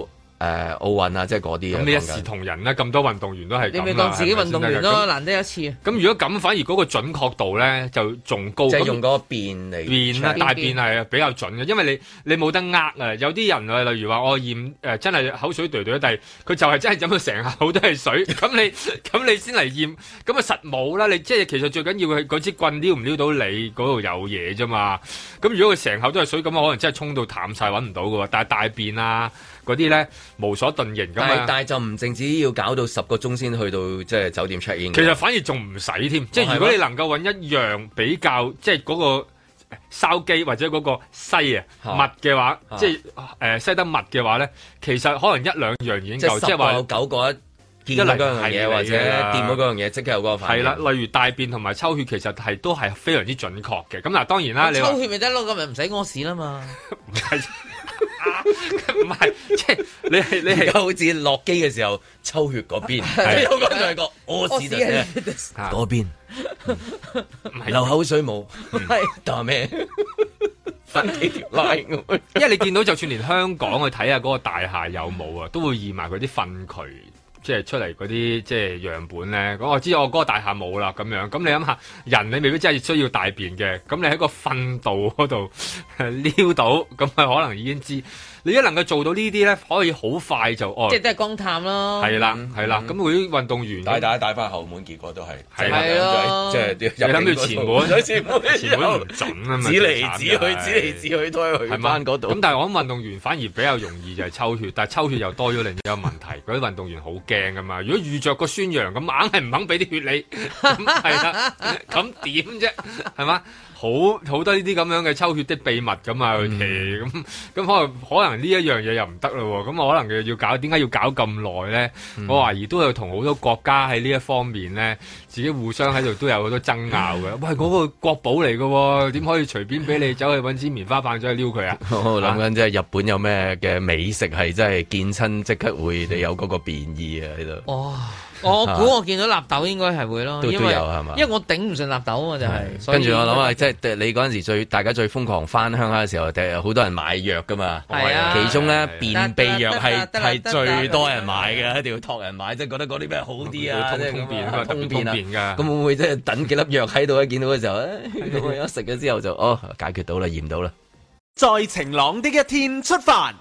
Speaker 2: 奧運啊，即係嗰啲。
Speaker 3: 咁你一視同仁啦，咁多運動員都係咁啦。
Speaker 4: 你咪當自己運動員咯，難得一次。
Speaker 3: 咁如果咁，反而嗰個準確度咧就仲高。
Speaker 2: 即係用嗰個變嚟
Speaker 3: 變啦，大變係比較準嘅，因為你冇得呃啊。有啲人啊，例如話我驗真係口水對對，但係佢就係真係飲到成口都係水，咁你先嚟驗，咁啊實冇啦。你即係其實最緊要係嗰支棍撩唔撩到你嗰度有嘢啫嘛。咁如果佢成口都係水，咁可能真係沖到淡晒揾唔到嘅喎。但係大便啊嗰啲咧無所遁形咁啊。
Speaker 2: 但係就唔淨止要搞到10個鐘先去到即係酒店 check in。
Speaker 3: 其實反而仲唔使添，即係如果你能夠揾一樣比較即係嗰個筲箕或者嗰個西密嘅話，即係西得密嘅話咧，其實可能1、2樣已經夠，即係話有
Speaker 2: 9個見到嗰樣嘢或者掂到嗰樣嘢，即刻有嗰個反應。係啦，
Speaker 3: 例如大便同埋抽血，其實都係非常之準確嘅。咁嗱，當然啦，你
Speaker 4: 抽血咪得咯，咁咪唔使屙屎啦嘛。
Speaker 3: 唔係，唔係，即係你係
Speaker 2: 而家好似落機嘅時候抽血嗰邊，有個就係個屙屎嗰邊，流口水冇，但咩？分幾條 line 咁，
Speaker 3: 因為你見到就算連香港去睇下嗰個大廈有冇啊，都會驗埋佢啲糞渠，即係出嚟嗰啲即係樣本咧。咁我知我嗰個大廈冇啦，咁樣咁你諗下，人你未必真係需要大便嘅，咁你喺個糞道嗰度撩到，咁佢可能已經知。你一能夠做到呢啲咧，可以好快就
Speaker 4: 即係都係光探咯。
Speaker 3: 係啦，係啦。咁嗰啲運動員
Speaker 2: 帶翻後門，結果都係
Speaker 4: 係咯。
Speaker 2: 即係
Speaker 3: 你諗住前門，前門唔準啊嘛。
Speaker 2: 指嚟指去都係去翻嗰度。
Speaker 3: 咁但係我諗運動員反而比較容易就係抽血，但係抽血又多咗另一個問題，嗰啲運動員好驚噶嘛。如果遇着個宣揚咁，硬係唔肯俾啲血你，咁係啦，咁點啫？係嘛？好多呢啲咁樣嘅抽血的秘密咁啊，佢哋咁可能呢一樣嘢又唔得咯喎，咁我可能要搞，點解要搞咁耐咧？我懷疑都有同好多國家喺呢一方面咧，自己互相喺度都有好多爭拗嘅。喂，嗰個國寶嚟嘅喎，點可以隨便俾你走去揾支棉花棒走去撩佢啊？
Speaker 2: 我諗緊即係日本有咩嘅美食係真係見親即刻會你有嗰個變異啊喺度。
Speaker 4: 哦。我估我見到納豆應該係會咯，
Speaker 2: 都有係嘛？
Speaker 4: 因為我頂唔順納豆啊嘛，就係。
Speaker 2: 跟住我諗下，即係你嗰陣時大家最瘋狂翻鄉下嘅時候，好多人買藥噶嘛。
Speaker 4: 係啊。
Speaker 2: 其中咧便秘藥係最多人買嘅，一定要託人買，即係覺得嗰啲咩好啲啊，通便啊。咁會唔會即係等幾粒藥喺度見到嘅時候，一食咗之後就解決到啦，驗到啦。
Speaker 1: 在晴朗的一天出發。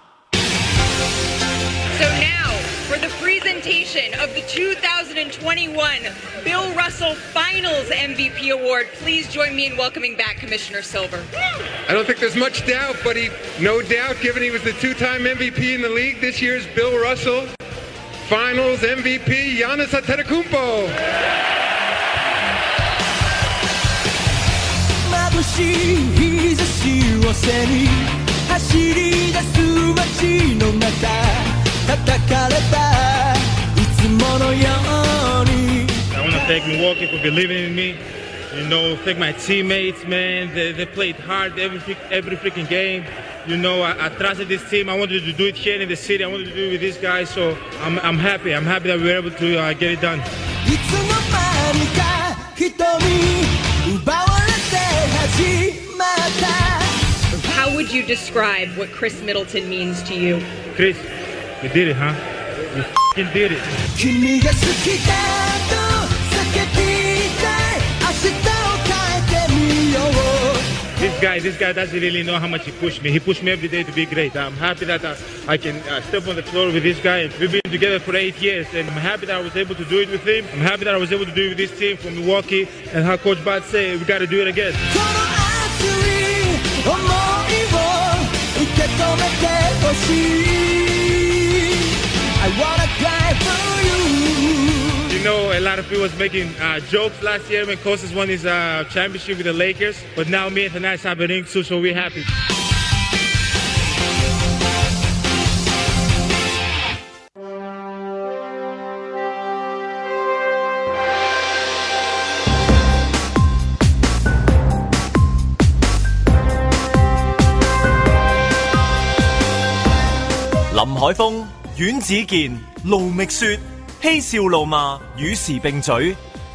Speaker 10: So now for the presentation of the 2021 Bill Russell Finals MVP Award, please join me in welcoming back Commissioner Silver.
Speaker 11: I don't think there's much doubt, but no doubt, given he was the two-time MVP in the league, this year's Bill Russell Finals MVP, Giannis Antetokounmpo. 眩しい日差しを背に走り出す街の中叩かれたいつものように I want to thank Milwaukee for believing in me. You know, thank my teammates, man. They played hard every freaking game. You know, I trusted this team. I wanted to do it here in the city. I wanted to do it with these guys. So I'm happy. I'm happy that we were able to get it done. いつの間にか瞳奪われて始まった
Speaker 10: How would you describe what Chris Middleton means to you?
Speaker 11: Chris, you did it, huh? You f***ing did it. 君が好きだと叫びたい明日を変えてみよう This guy doesn't really know how much he pushed me. He pushed me every day to be great. I'm happy that I can step on the floor with this guy. We've been together for 8 years, and I'm happy that I was able to do it with him. I'm happy that I was able to do it with this team from Milwaukee. And how Coach Bud said, we got to do it again. I wanna cry for you. You know, a lot of people was making jokes last year when Kostas won his championship with the Lakers. But now me and Thanai have a ring too, so we're happy.
Speaker 1: 林海峰、阮子健、盧覓雪，嬉笑怒罵與時並舉，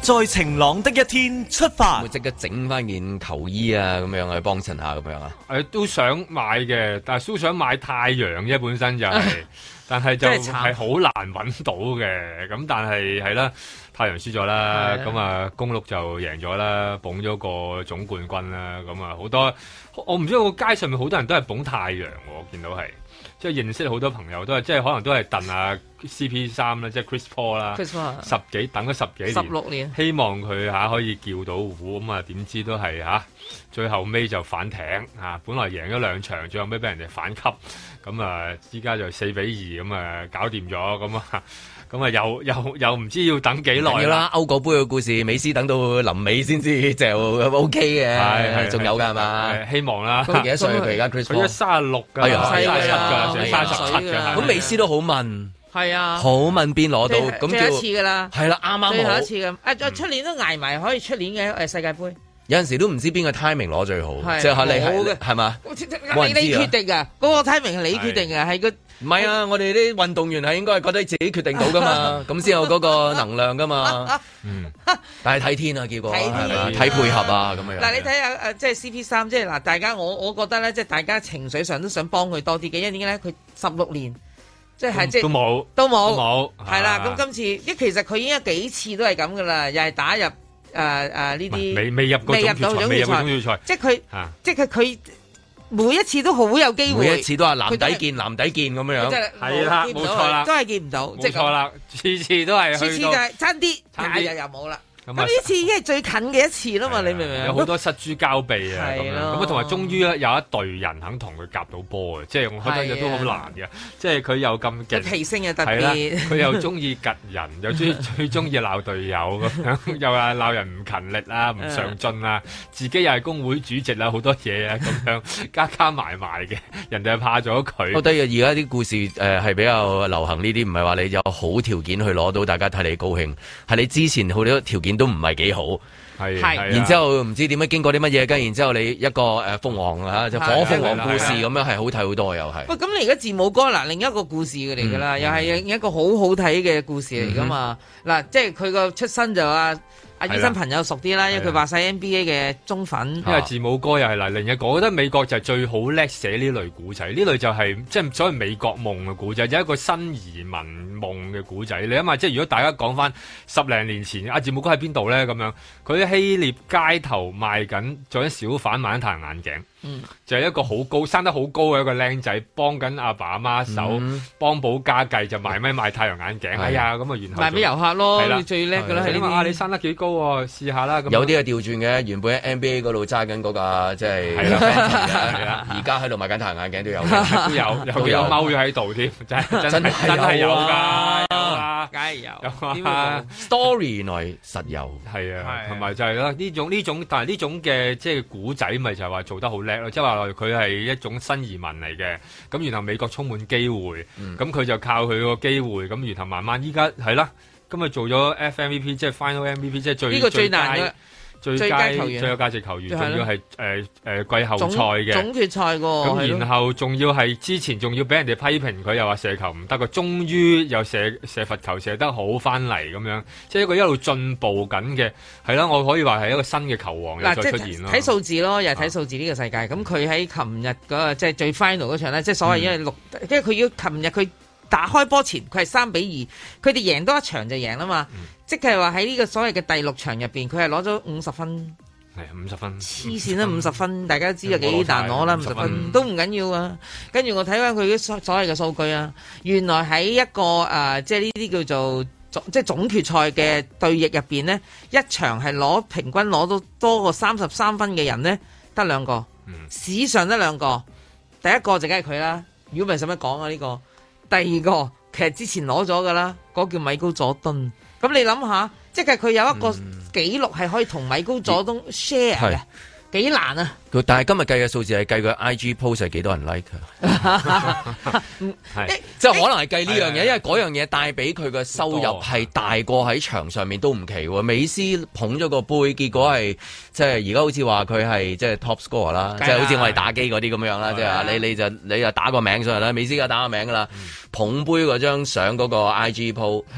Speaker 1: 在晴朗的一天出發。
Speaker 2: 會即刻整翻件球衣啊，咁樣去幫襯下咁樣啊？
Speaker 3: 都想買嘅，但係都想買太陽啫，本身就係、但係就係好難揾到嘅。咁但係係啦，太陽輸咗啦，咁啊公鹿就贏咗啦，捧咗個總冠軍啦。咁啊好多，我唔知個街上面好多人都係捧太陽，我見到係。即係認識好多朋友都係，即係可能都係鄧啊 CP3 啦，即係 Chris Paul 啦，等咗十幾年
Speaker 4: 16年，
Speaker 3: 希望佢可以叫到胡，咁啊點知都係最後尾就反艇本來贏咗2場，最後尾俾人哋反級，咁啊依家就4-2咁啊搞掂咗，咁啊又唔知要等幾耐
Speaker 2: 啦。歐國杯嘅故事，美斯等到臨尾先至就 OK 嘅，係仲有㗎係嘛？
Speaker 3: 希望啦。
Speaker 2: 佢幾多歲？佢而家 Chris Paul
Speaker 3: 佢36㗎，成37㗎。
Speaker 2: 咁美斯都好問，
Speaker 4: 係啊，
Speaker 2: 好問邊攞到咁
Speaker 4: 最後一次㗎啦，
Speaker 2: 係啦，啱
Speaker 4: 最後一次咁。出年都捱埋，可以出年嘅世界盃。
Speaker 2: 有陣時都唔知邊個 timing 攞最好，即係你係嘛？
Speaker 4: 你決定㗎，嗰個 timing 係你決定㗎，係個。
Speaker 2: 唔係啊！我哋啲運動員係應該係覺得自己決定到噶嘛，咁先有嗰個能量噶嘛。但係睇天啊，結果睇配合啊咁樣。
Speaker 4: 嗱，你睇下即係 CP3，即係嗱，大家我覺得咧，即係大家情緒上都想幫佢多啲嘅，因為點解咧？佢16年，即係
Speaker 3: 都冇，
Speaker 4: 係啦。咁今次，其實佢已經有幾次都係咁噶啦，又係打入呢啲
Speaker 3: 未入到總決賽，
Speaker 4: 即係佢。每一次都好有機會，
Speaker 2: 每一次都係藍底見咁樣，
Speaker 3: 係啦，冇錯啦，
Speaker 4: 都係見唔到，
Speaker 3: 冇錯啦，次次都係，
Speaker 4: 次就係差啲，又冇啦。咁呢次已經係最近嘅一次啦嘛，你明唔明？
Speaker 3: 有好多失諸交臂啊，咁樣同埋終於有一隊人肯同佢夾到波嘅，即係我覺得都好難嘅，即係佢又咁勁，
Speaker 4: 脾性又特別，
Speaker 3: 佢又中意吉人，又最中意鬧隊友咁樣，又話鬧人唔勤力啊，唔上進啊，自己又係工會主席啦，好多嘢啊咁樣加埋嘅，人哋係怕咗佢。
Speaker 2: 我覺得而家啲故事係比較流行呢啲，唔係話你有好條件去攞到，大家睇你高興，係你之前好多條件都唔係幾好，
Speaker 3: 係，
Speaker 2: 然之後唔知點樣經過啲乜嘢，跟然之後你一個鳳凰就火鳳凰故事咁樣係好睇好多又係。喂，
Speaker 4: 咁你而家字母哥嗱，另一個故事嚟㗎啦，又係一個好好睇嘅故事嚟㗎嘛。嗱，即係佢個出身就阿醫生朋友熟啲啦，因為佢話晒 NBA 嘅中粉。
Speaker 3: 因為字母哥又係嗱，另一個，我覺得美國就係最好叻寫呢類古仔，呢類就係即係所謂美國夢嘅古仔，有一個新移民夢嘅古仔。你諗下，即係如果大家講翻10零年前，阿字母哥喺邊度咧？咁樣佢喺希臘街頭賣緊，做緊小販賣緊太陽眼鏡。就係一個好高生得好高嘅一個僆仔，幫緊阿爸阿媽手，幫補家計就賣太陽眼鏡。哎呀，咁啊，然後
Speaker 4: 賣俾遊客咯，
Speaker 3: 係啦，
Speaker 4: 最叻㗎啦。
Speaker 3: 你話你生得幾高喎？試下啦。
Speaker 2: 有啲係調轉嘅，原本喺 NBA 嗰度揸緊嗰架，即係而家喺度賣緊太陽眼鏡都有，
Speaker 3: 都有踎咗喺度添，真係有㗎，
Speaker 4: 梗係有。
Speaker 2: Story 原來實有，
Speaker 3: 係啊，同埋就係啦，呢種，但係呢種嘅即係古仔，咪就係話做得好叻咯，即係話佢係一種新移民嚟嘅，咁然後美國充滿機會，咁佢就靠佢個機會，咁然後慢慢依家係啦，今日做咗 FMVP， 即係 Final MVP， 即係最難嘅。最佳球員、最有價值球員，仲要係季後賽嘅
Speaker 4: 總決賽喎。
Speaker 3: 咁然後仲要係之前仲要俾人哋批評佢，又話射球唔得嘅，終於又射罰球射得好翻嚟咁樣，即係一個一路進步緊嘅，係啦，我可以話係一個新嘅球王又再出現咯。
Speaker 4: 睇數字咯，又係睇數字呢個世界。咁佢喺琴日嗰個即係最 final 嗰場咧，即係所謂因為因為佢要琴日佢打開波前佢係3-2，佢哋贏多一場就贏啦嘛。即係話喺呢個所謂嘅第6場入邊，佢係攞咗50分，
Speaker 3: 係50分，
Speaker 4: 黐線啦50分，大家都知有幾難攞啦50分都唔緊要啊。跟住我睇翻佢啲所謂嘅數據啊，原來喺一個即係呢啲叫做即係總決賽嘅對弈入邊呢，一場係平均攞到多過33分嘅人呢，得2個，史上得2個，第一個就梗係佢啦，如果唔係使乜講啊呢個，第二個其實之前攞咗噶啦，嗰個叫米高佐敦。咁你諗下，即係佢有一個紀錄係可以同米高佐敦 share 嘅，幾難啊！
Speaker 2: 但係今日計嘅數字係計佢 IG post 係幾多人 like 即係可能係計呢樣嘢，因為嗰樣嘢帶俾佢嘅收入係大過喺場上面都唔奇喎。美斯捧咗個杯，結果係即係而家好似話佢係即係 top score 啦，即係好似我哋打機嗰啲咁樣啦，即係你就打個名上嚟啦，美斯而家打個名㗎啦，捧杯嗰張相嗰個 IG post 係。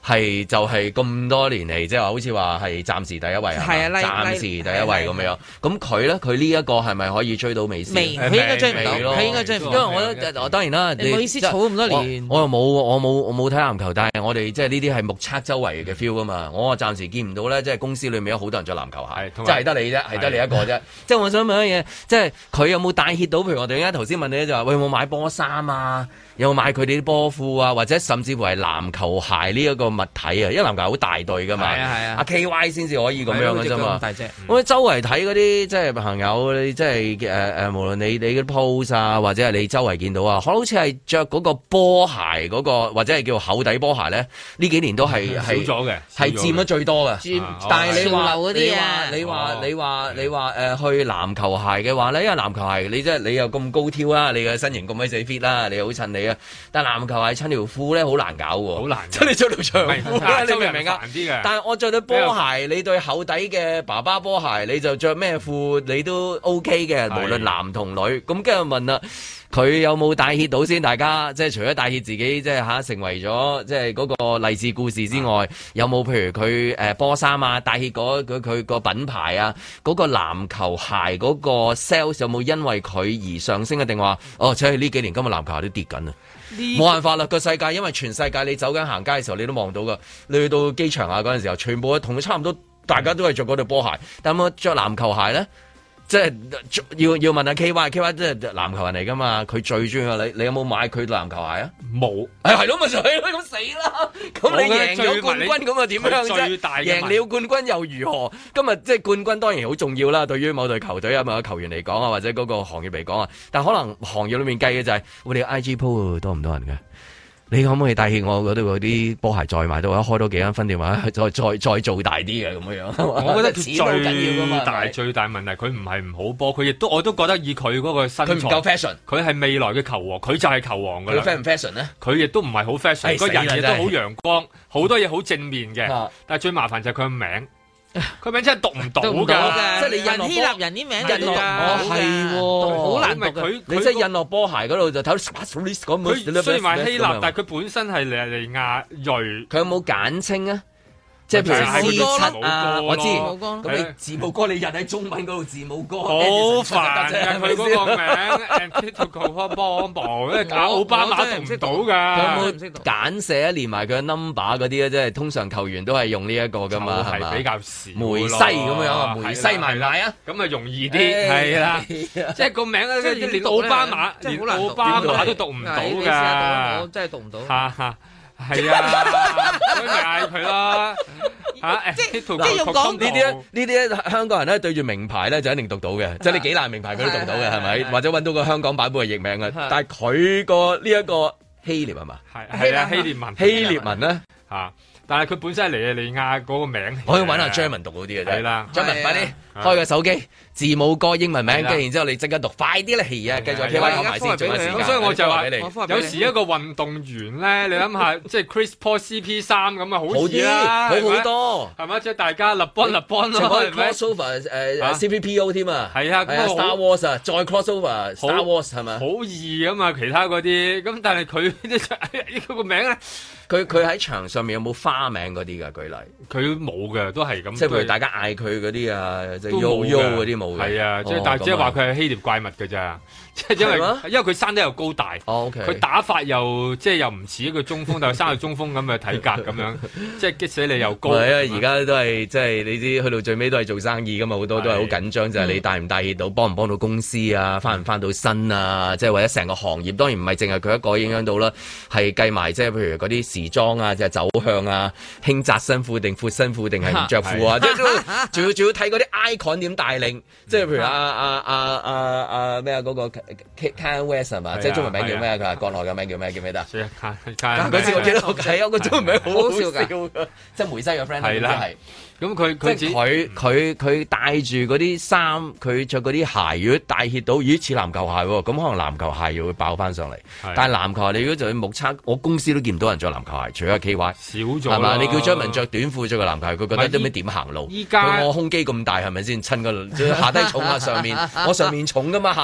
Speaker 2: 係就係咁多年嚟，即係話好似話係暫時第一位係啊，暫時第一位咁樣。咁佢咧，佢呢一個係咪可以追到美斯？
Speaker 4: 未，佢應該追唔到，佢應該追唔到。
Speaker 2: 因為我覺得當然啦，
Speaker 4: 你美斯儲咁多年，
Speaker 2: 我冇睇籃球，但係我哋即係呢啲係目測周圍嘅 feel 噶嘛。我暫時見唔到咧，即係公司裏面有好多人着籃球鞋，即係得你啫，係得你一個啫。即係我想問一嘢，即係佢有冇帶挈到？譬如我哋而家頭先問你就話，喂，有冇買波衫啊？有冇買佢哋啲波褲啊？或者甚至乎係籃球鞋呢一個物體啊？因為籃球好大對噶嘛，阿 KY 先至可以咁樣嘅啫嘛。我周圍睇嗰啲即係朋友，你即係無論你啲 post 啊，或者係你周圍見到啊，好似係着嗰個波鞋嗰個，或者係叫厚底波鞋咧，呢幾年都係
Speaker 3: 少咗嘅，
Speaker 2: 係佔咗最多嘅。但係你話去籃球鞋嘅話咧，因為籃球鞋你即係你又咁高挑啦，你嘅身形咁鬼死 fit 啦，你又好襯你啊。但係籃球鞋襯條褲咧好難搞喎，好難。即係你着條長褲，你明唔明啊？但係我着對波鞋，你對厚底嘅爸爸波鞋，你就着咩褲你都 OK 嘅，無論男同女。咁跟住問啦，佢有冇帶挈到先？大家即係除咗帶挈自己，即係成為咗即係嗰個勵志故事之外，有冇譬如佢波衫啊，帶挈佢個品牌啊，嗰個籃球鞋嗰個 sales 有冇因為佢而上升啊？定話即係呢幾年今日籃球鞋都跌緊啊！冇辦法啦，個世界因為全世界你走緊行街嘅時候，你都望到噶。你去到機場啊嗰陣時候，全部同佢差唔多，大家都係着嗰對波鞋。但係我着籃球鞋咧，即係要問下 KY 即係籃球人嚟噶嘛？佢最中意你有冇買佢籃球鞋啊？冇，係咯，咪就係咯，咁死啦！咁你贏咗冠軍咁啊點樣啫？贏了冠軍又如何？今日即係冠軍當然好重要啦，對於某隊球隊啊、某個球員嚟講啊，或者嗰個行業嚟講啊，但可能行業裏面計嘅就係我哋 IG po 多唔多人嘅？你可唔可以帶挈我嗰度嗰啲波鞋再買到，或者開多幾間分店，或者再做大啲嘅咁樣？我覺得最大問題，佢唔係唔好波，我都覺得以佢嗰個身材，佢唔夠 fashion，佢係未來嘅球王，佢就係球王㗎啦。佢 fashion 唔 fashion 咧？佢亦都唔係好 fashion，個人亦都好陽光，好多嘢好正面嘅。但係最麻煩就係佢個名。佢名真係讀唔到㗎，
Speaker 4: 即係你印希臘人啲名就讀，
Speaker 2: 好難讀。你即係印落波鞋嗰度就睇到 Sparklis 咁。佢雖然話希臘，但係佢本身係尼亞裔。佢有冇簡稱啊？即係譬如C7啊，我知。咁你字母哥你印喺中文嗰度字母哥，好煩㗎佢嗰個名。因為搞奧巴馬讀唔到㗎。有冇簡寫連埋佢嘅 number 嗰啲咧？即係通常球員都係用呢一個㗎嘛，係嘛？比較少。梅西咁樣啊，梅西買唔買啊？咁啊容易啲，係啦。即係個名咧，連奧巴馬連奧巴馬都讀唔到㗎。我真係讀唔到。係啊，所以咪嗌佢咯嚇！即係要講呢啲香港人咧對住名牌咧就一定讀到嘅，即係你幾難名牌佢都讀到嘅，係咪？或者揾到個香港版本嘅譯名嘅，但係佢個呢一個希臘係嘛？係啊，希臘文咧嚇，但係佢本身係尼日利亞嗰個名，可以揾下張文讀好啲嘅啫。係啦，張文快啲開個手機。字母哥英文名，跟然之後你即刻讀，快啲啦！係啊，繼續 KY 講埋先，仲有時間。所以我就話，有時一個運動員咧，你諗下，即係 Chris Paul CP3咁啊，好易啦，好好多，係咪？即係大家立邦咯，係咪 ？crossover CPPO 添啊，係啊，Star Wars 啊，再 crossover Star Wars 係咪？好易啊嘛，其他嗰啲，咁但係佢呢個名咧，佢喺場上面有冇花名嗰啲㗎？舉例，佢冇嘅，都係咁。即係譬如大家嗌佢嗰啲啊，即係 Yo 嗰啲。係啊，即係但係即係話佢係希臘怪物㗎咋，即係因為佢生得又高大，佢打法又即係又唔似一個中鋒，但係生個中鋒咁嘅體格咁樣，即係激死你又高。係啊，而家都係即係你知，去到最尾都係做生意㗎嘛，好多都係好緊張，就係你帶唔帶挈到，幫唔幫到公司啊，翻唔翻到身啊，即係或者成個行業，當然唔係淨係佢一個影響到啦，係計埋即係譬如嗰啲時裝啊，即係走向啊，興窄身褲定闊身褲定係唔着褲啊，即係仲要睇嗰啲 icon 點帶領。即係譬如咩嗰個 Kanye West 係嘛？即係中文名叫咩？佢話國內嘅名叫咩？叫咩得？嗰次我記得好睇啊！個中文名好好笑㗎，即係梅西嘅 friend 係啦，係。咁佢帶住嗰啲衫，佢着嗰啲鞋，如果帶挈到，咦似籃球鞋喎，咁可能籃球鞋又會爆翻上嚟。但係籃球鞋你如果就去目測，我公司都見唔到人着籃球鞋，除咗 KY 少咗係嘛？你叫張文着短褲着個籃球鞋，佢覺得都咩點行路？依家我胸肌咁大係咪先？襯個下低重啊，上面我上面重噶嘛，下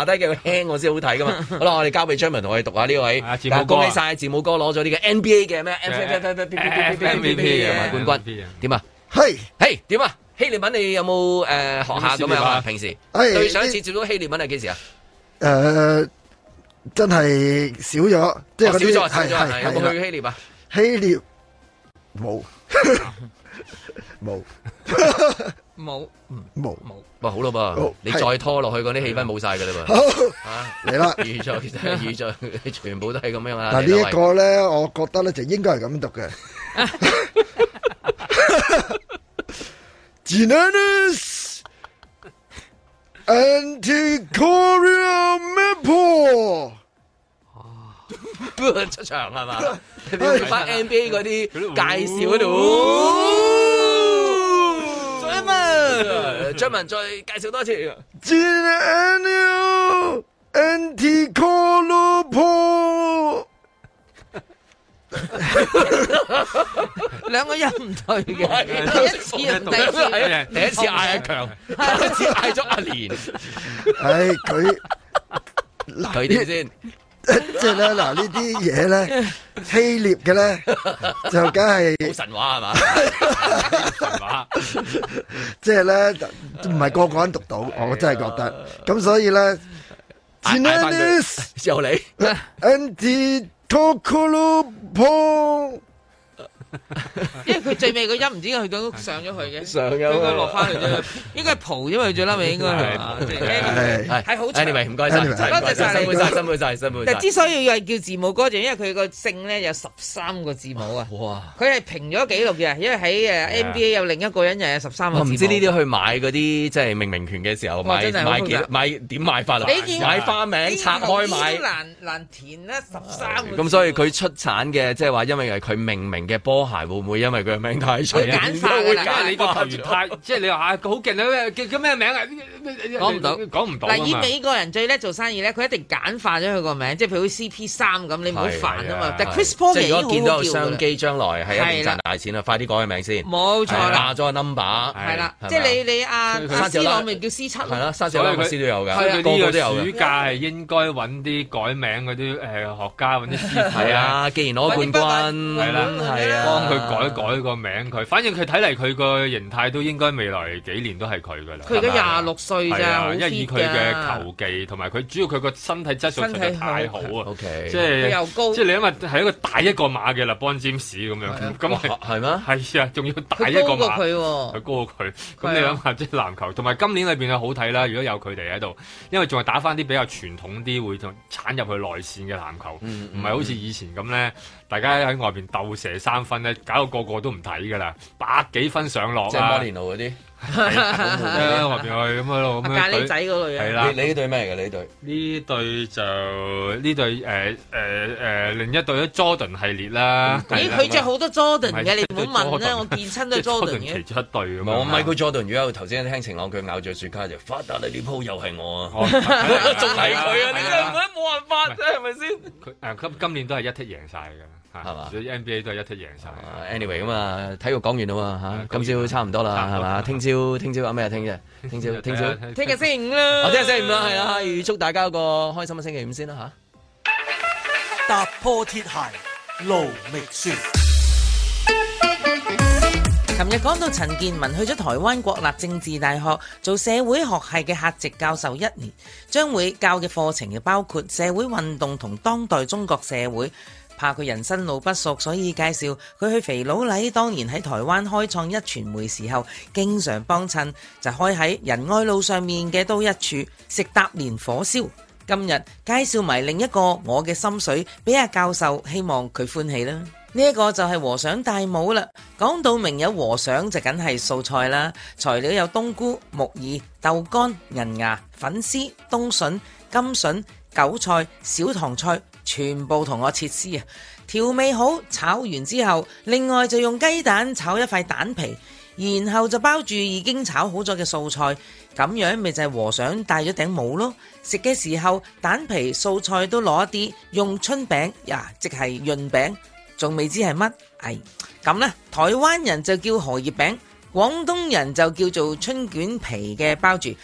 Speaker 2: 低嘅輕我先好睇噶嘛。好啦，我哋交俾張文同我哋讀下呢位。恭喜晒字母哥攞咗呢個 NBA 嘅咩 MVP 嘅冠軍。點啊？係點啊？希臘文你有冇學下咁樣啊？平時對上一次接觸希臘文係幾時啊？
Speaker 12: 真係少咗，即係嗰啲
Speaker 2: 少咗。有冇去希臘啊？
Speaker 12: 希臘冇冇。
Speaker 2: 哇，好咯噃，你再拖落去嗰啲氣氛冇晒噶啦噃。
Speaker 12: 好，嚟啦，
Speaker 2: 預咗，全部都係咁樣啊。
Speaker 12: 嗱呢一個咧，我覺得咧就應該係咁讀嘅。Giannis Antetokounmpo
Speaker 2: 出場係嘛？你翻 NBA 嗰啲介紹嗰度。張文再介紹多次。
Speaker 12: Giannis Antetokounmpo
Speaker 4: 兩個音唔對嘅，
Speaker 2: 第一次嗌阿強，第一次嗌咗阿蓮。佢點先？
Speaker 12: 即係咧，嗱呢啲嘢咧，希臘嘅咧就梗係
Speaker 2: 好神話係嘛？神話，
Speaker 12: 即係咧唔係個個人讀到，我真係覺得。咁所以咧
Speaker 2: ，Giannis 由你
Speaker 12: Antetokounmpo
Speaker 4: 因為佢最尾個音唔知點解佢都上咗去嘅，
Speaker 2: 上咗
Speaker 4: 應該落翻去啫，應該係蒲，因為最嬲尾應該係好長。
Speaker 2: Anyway 唔該晒，多謝晒你，辛苦晒。
Speaker 4: 但之所以要係叫字母哥，就因為佢個姓咧有13個字母啊！哇！佢係平咗紀錄嘅，因為喺NBA 有另一個人又有13個字母。
Speaker 2: 我唔知呢啲去買嗰啲即係命名權嘅時候買點買法啊？買花名拆開買
Speaker 4: 難填啦，13個。
Speaker 2: 咁所以佢出產嘅即係話，因為係佢命名嘅波鞋會唔會因為佢嘅名太長？
Speaker 4: 簡化㗎啦，
Speaker 3: 因為你個球員太即係你話好勁啊！叫咩名啊？講唔到。
Speaker 4: 嗱，以美國人最叻做生意咧，佢一定簡化咗佢個名，即係譬如 CP3咁，你唔好煩啊嘛。但 Chris Paul
Speaker 2: 如果見到商機將來係一定賺大錢啦，快啲改個名先。
Speaker 4: 冇錯啦，
Speaker 2: 下咗個 number
Speaker 4: 係啦，即係你阿斯朗咪叫 C7咯。
Speaker 2: 係啦，沙士朗斯都有㗎，
Speaker 3: 個個都有。暑假係應該揾啲改名嗰啲學家揾啲師傅。
Speaker 2: 係啊，既然攞冠軍，
Speaker 3: 係啦，
Speaker 2: 係啊，
Speaker 3: 幫佢改個名佢。反正佢睇嚟佢個形態都應該未來幾年都係佢㗎啦。
Speaker 4: 佢而家26歲咋，
Speaker 3: 因為以佢嘅球技同埋佢主要佢個身體質素實在太好啊。
Speaker 2: OK，
Speaker 3: 即係
Speaker 4: 又高，
Speaker 3: 即係你因為係一個大一個碼嘅LeBron James咁樣，咁
Speaker 2: 係咩？
Speaker 3: 係啊，仲要大一個碼，
Speaker 4: 佢
Speaker 3: 高過佢。咁你諗下，即係籃球同埋今年裏邊係好睇啦。如果有佢哋喺度，因為仲係打翻啲比較傳統啲，會鏟入去內線嘅籃球，唔係好似以前咁咧。大家喺外邊鬥射3分咧，搞到個個都唔睇噶啦，100幾分上落啊！
Speaker 2: 即係摩連奴嗰啲，
Speaker 3: 係外邊去咁喺度咁樣。
Speaker 4: 咖喱仔嗰類
Speaker 3: 係啦，
Speaker 2: 你呢隊咩嚟嘅？呢隊
Speaker 3: 呢隊另一隊咧 Jordan 系列啦。
Speaker 4: 咦，佢着好多 Jordan 嘅，你唔好問啦，我見親都係 Jordan 嘅。
Speaker 3: 其中一隊咁樣。
Speaker 2: 我Michael Jordan，如果頭先聽晴朗佢咬住雪茄就發達啦，呢鋪又係我啊，仲係佢啊！你真係冇辦法啫，係咪先？
Speaker 3: 佢今年都係一剔贏晒㗎。係嘛？NBA 都係一剔贏晒。
Speaker 2: Anyway 咁啊，體育講完啦嘛嚇，今朝差唔多啦，係嘛？聽朝有咩啊？聽日星期
Speaker 4: 五啦。
Speaker 2: 我聽日星期五啦，係啦，預祝大家有個開心嘅星期五先啦嚇。
Speaker 1: 踏破鐵鞋路未雪。
Speaker 4: 琴日講到陳健民去咗台灣國立政治大學做社會學系嘅客席教授1年，將會教嘅課程包括社會運動同當代中國社會。怕佢人生路不熟，所以介紹佢去肥佬黎當年喺台灣開創壹傳媒時候，經常幫襯，就開喺仁愛路上面嘅都一處食搭連火燒。今日介紹埋另一個我嘅心水俾阿教授，希望佢歡喜啦。呢一個就係和尚戴帽啦。講到明有和尚就梗係素菜啦，材料有冬菇、木耳、豆乾、銀芽、粉絲、冬筍、甘筍、韭菜、小棠菜，全部同我切絲啊！調味好，炒完之後，另外就用雞蛋炒一塊蛋皮，然後就包住已經炒好咗嘅素菜，咁樣咪就係和尚戴咗頂帽咯。食嘅時候，蛋皮、素菜都攞一啲，用春餅呀，即係潤餅，仲未知係乜？咁啦，台灣人就叫荷葉餅，廣東人就叫做春卷皮嘅包住。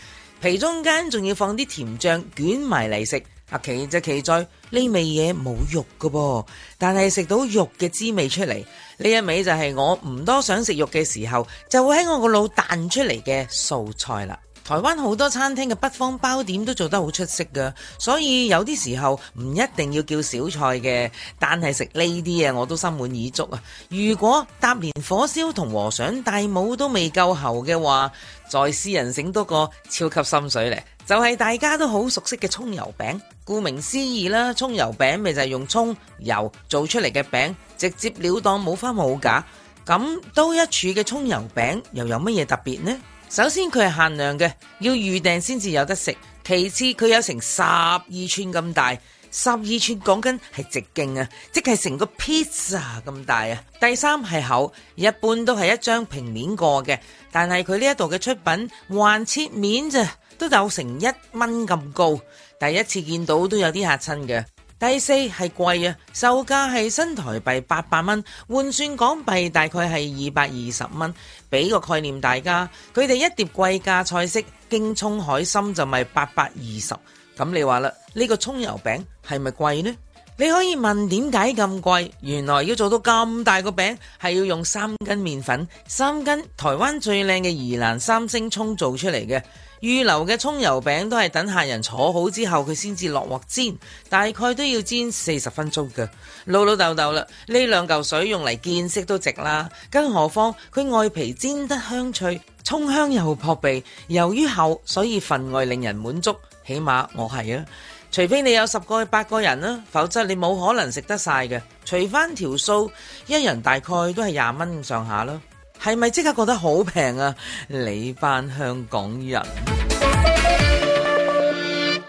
Speaker 4: 皮中間仲要放啲甜醬捲埋嚟食。奇就奇在呢味嘢冇肉㗎噃，但係食到肉嘅滋味出嚟。呢一味就係我唔多想食肉嘅時候，就會喺我個腦彈出嚟嘅素菜啦。台灣好多餐廳嘅北方包點都做得好出色㗎，所以有啲時候唔一定要叫小菜嘅，但係食呢啲啊我都心滿意足啊！如果搭連火燒同和尚大帽都未夠喉嘅話，再私人醒多個超級心水咧，就係大家都好熟悉嘅蔥油餅。顧名思義啦，蔥油餅咪就係用蔥油做出嚟嘅餅，直接了當冇花冇假。咁都一處嘅蔥油餅又有乜嘢特別呢？首先佢係限量嘅，要預訂先至有得食。其次佢有成12寸咁大，12寸講緊係直徑啊，即係成個 pizza 咁大啊。第三係厚，一般都係一張平面過嘅，但係佢呢一度嘅出品橫切面咋，都有成1蚊咁高。第一次見到都有啲嚇親嘅。第四係貴啊，售價係新台幣800蚊，換算港幣大概係220蚊。俾個概念大家，佢哋一碟貴價菜式京蔥海參就咪820。咁你話啦，呢個蔥油餅係咪貴呢？你可以問點解咁貴？原來要做到咁大個餅，係要用3斤麵粉、3斤台灣最靚嘅宜蘭3星蔥做出嚟嘅。預留嘅蔥油餅都係等客人坐好之後佢先至落鑊煎，大概都要煎40分鐘嘅。老老豆豆啦，呢2嚿水用嚟見識都值啦，更何況佢外皮煎得香脆，蔥香又撲鼻，由於厚所以份外令人滿足，起碼我係啊。除非你有10個8個人啦，否則你冇可能食得晒嘅。除翻條數，一人大概都係20蚊上下啦。係咪即刻覺得好平啊？你班香港人。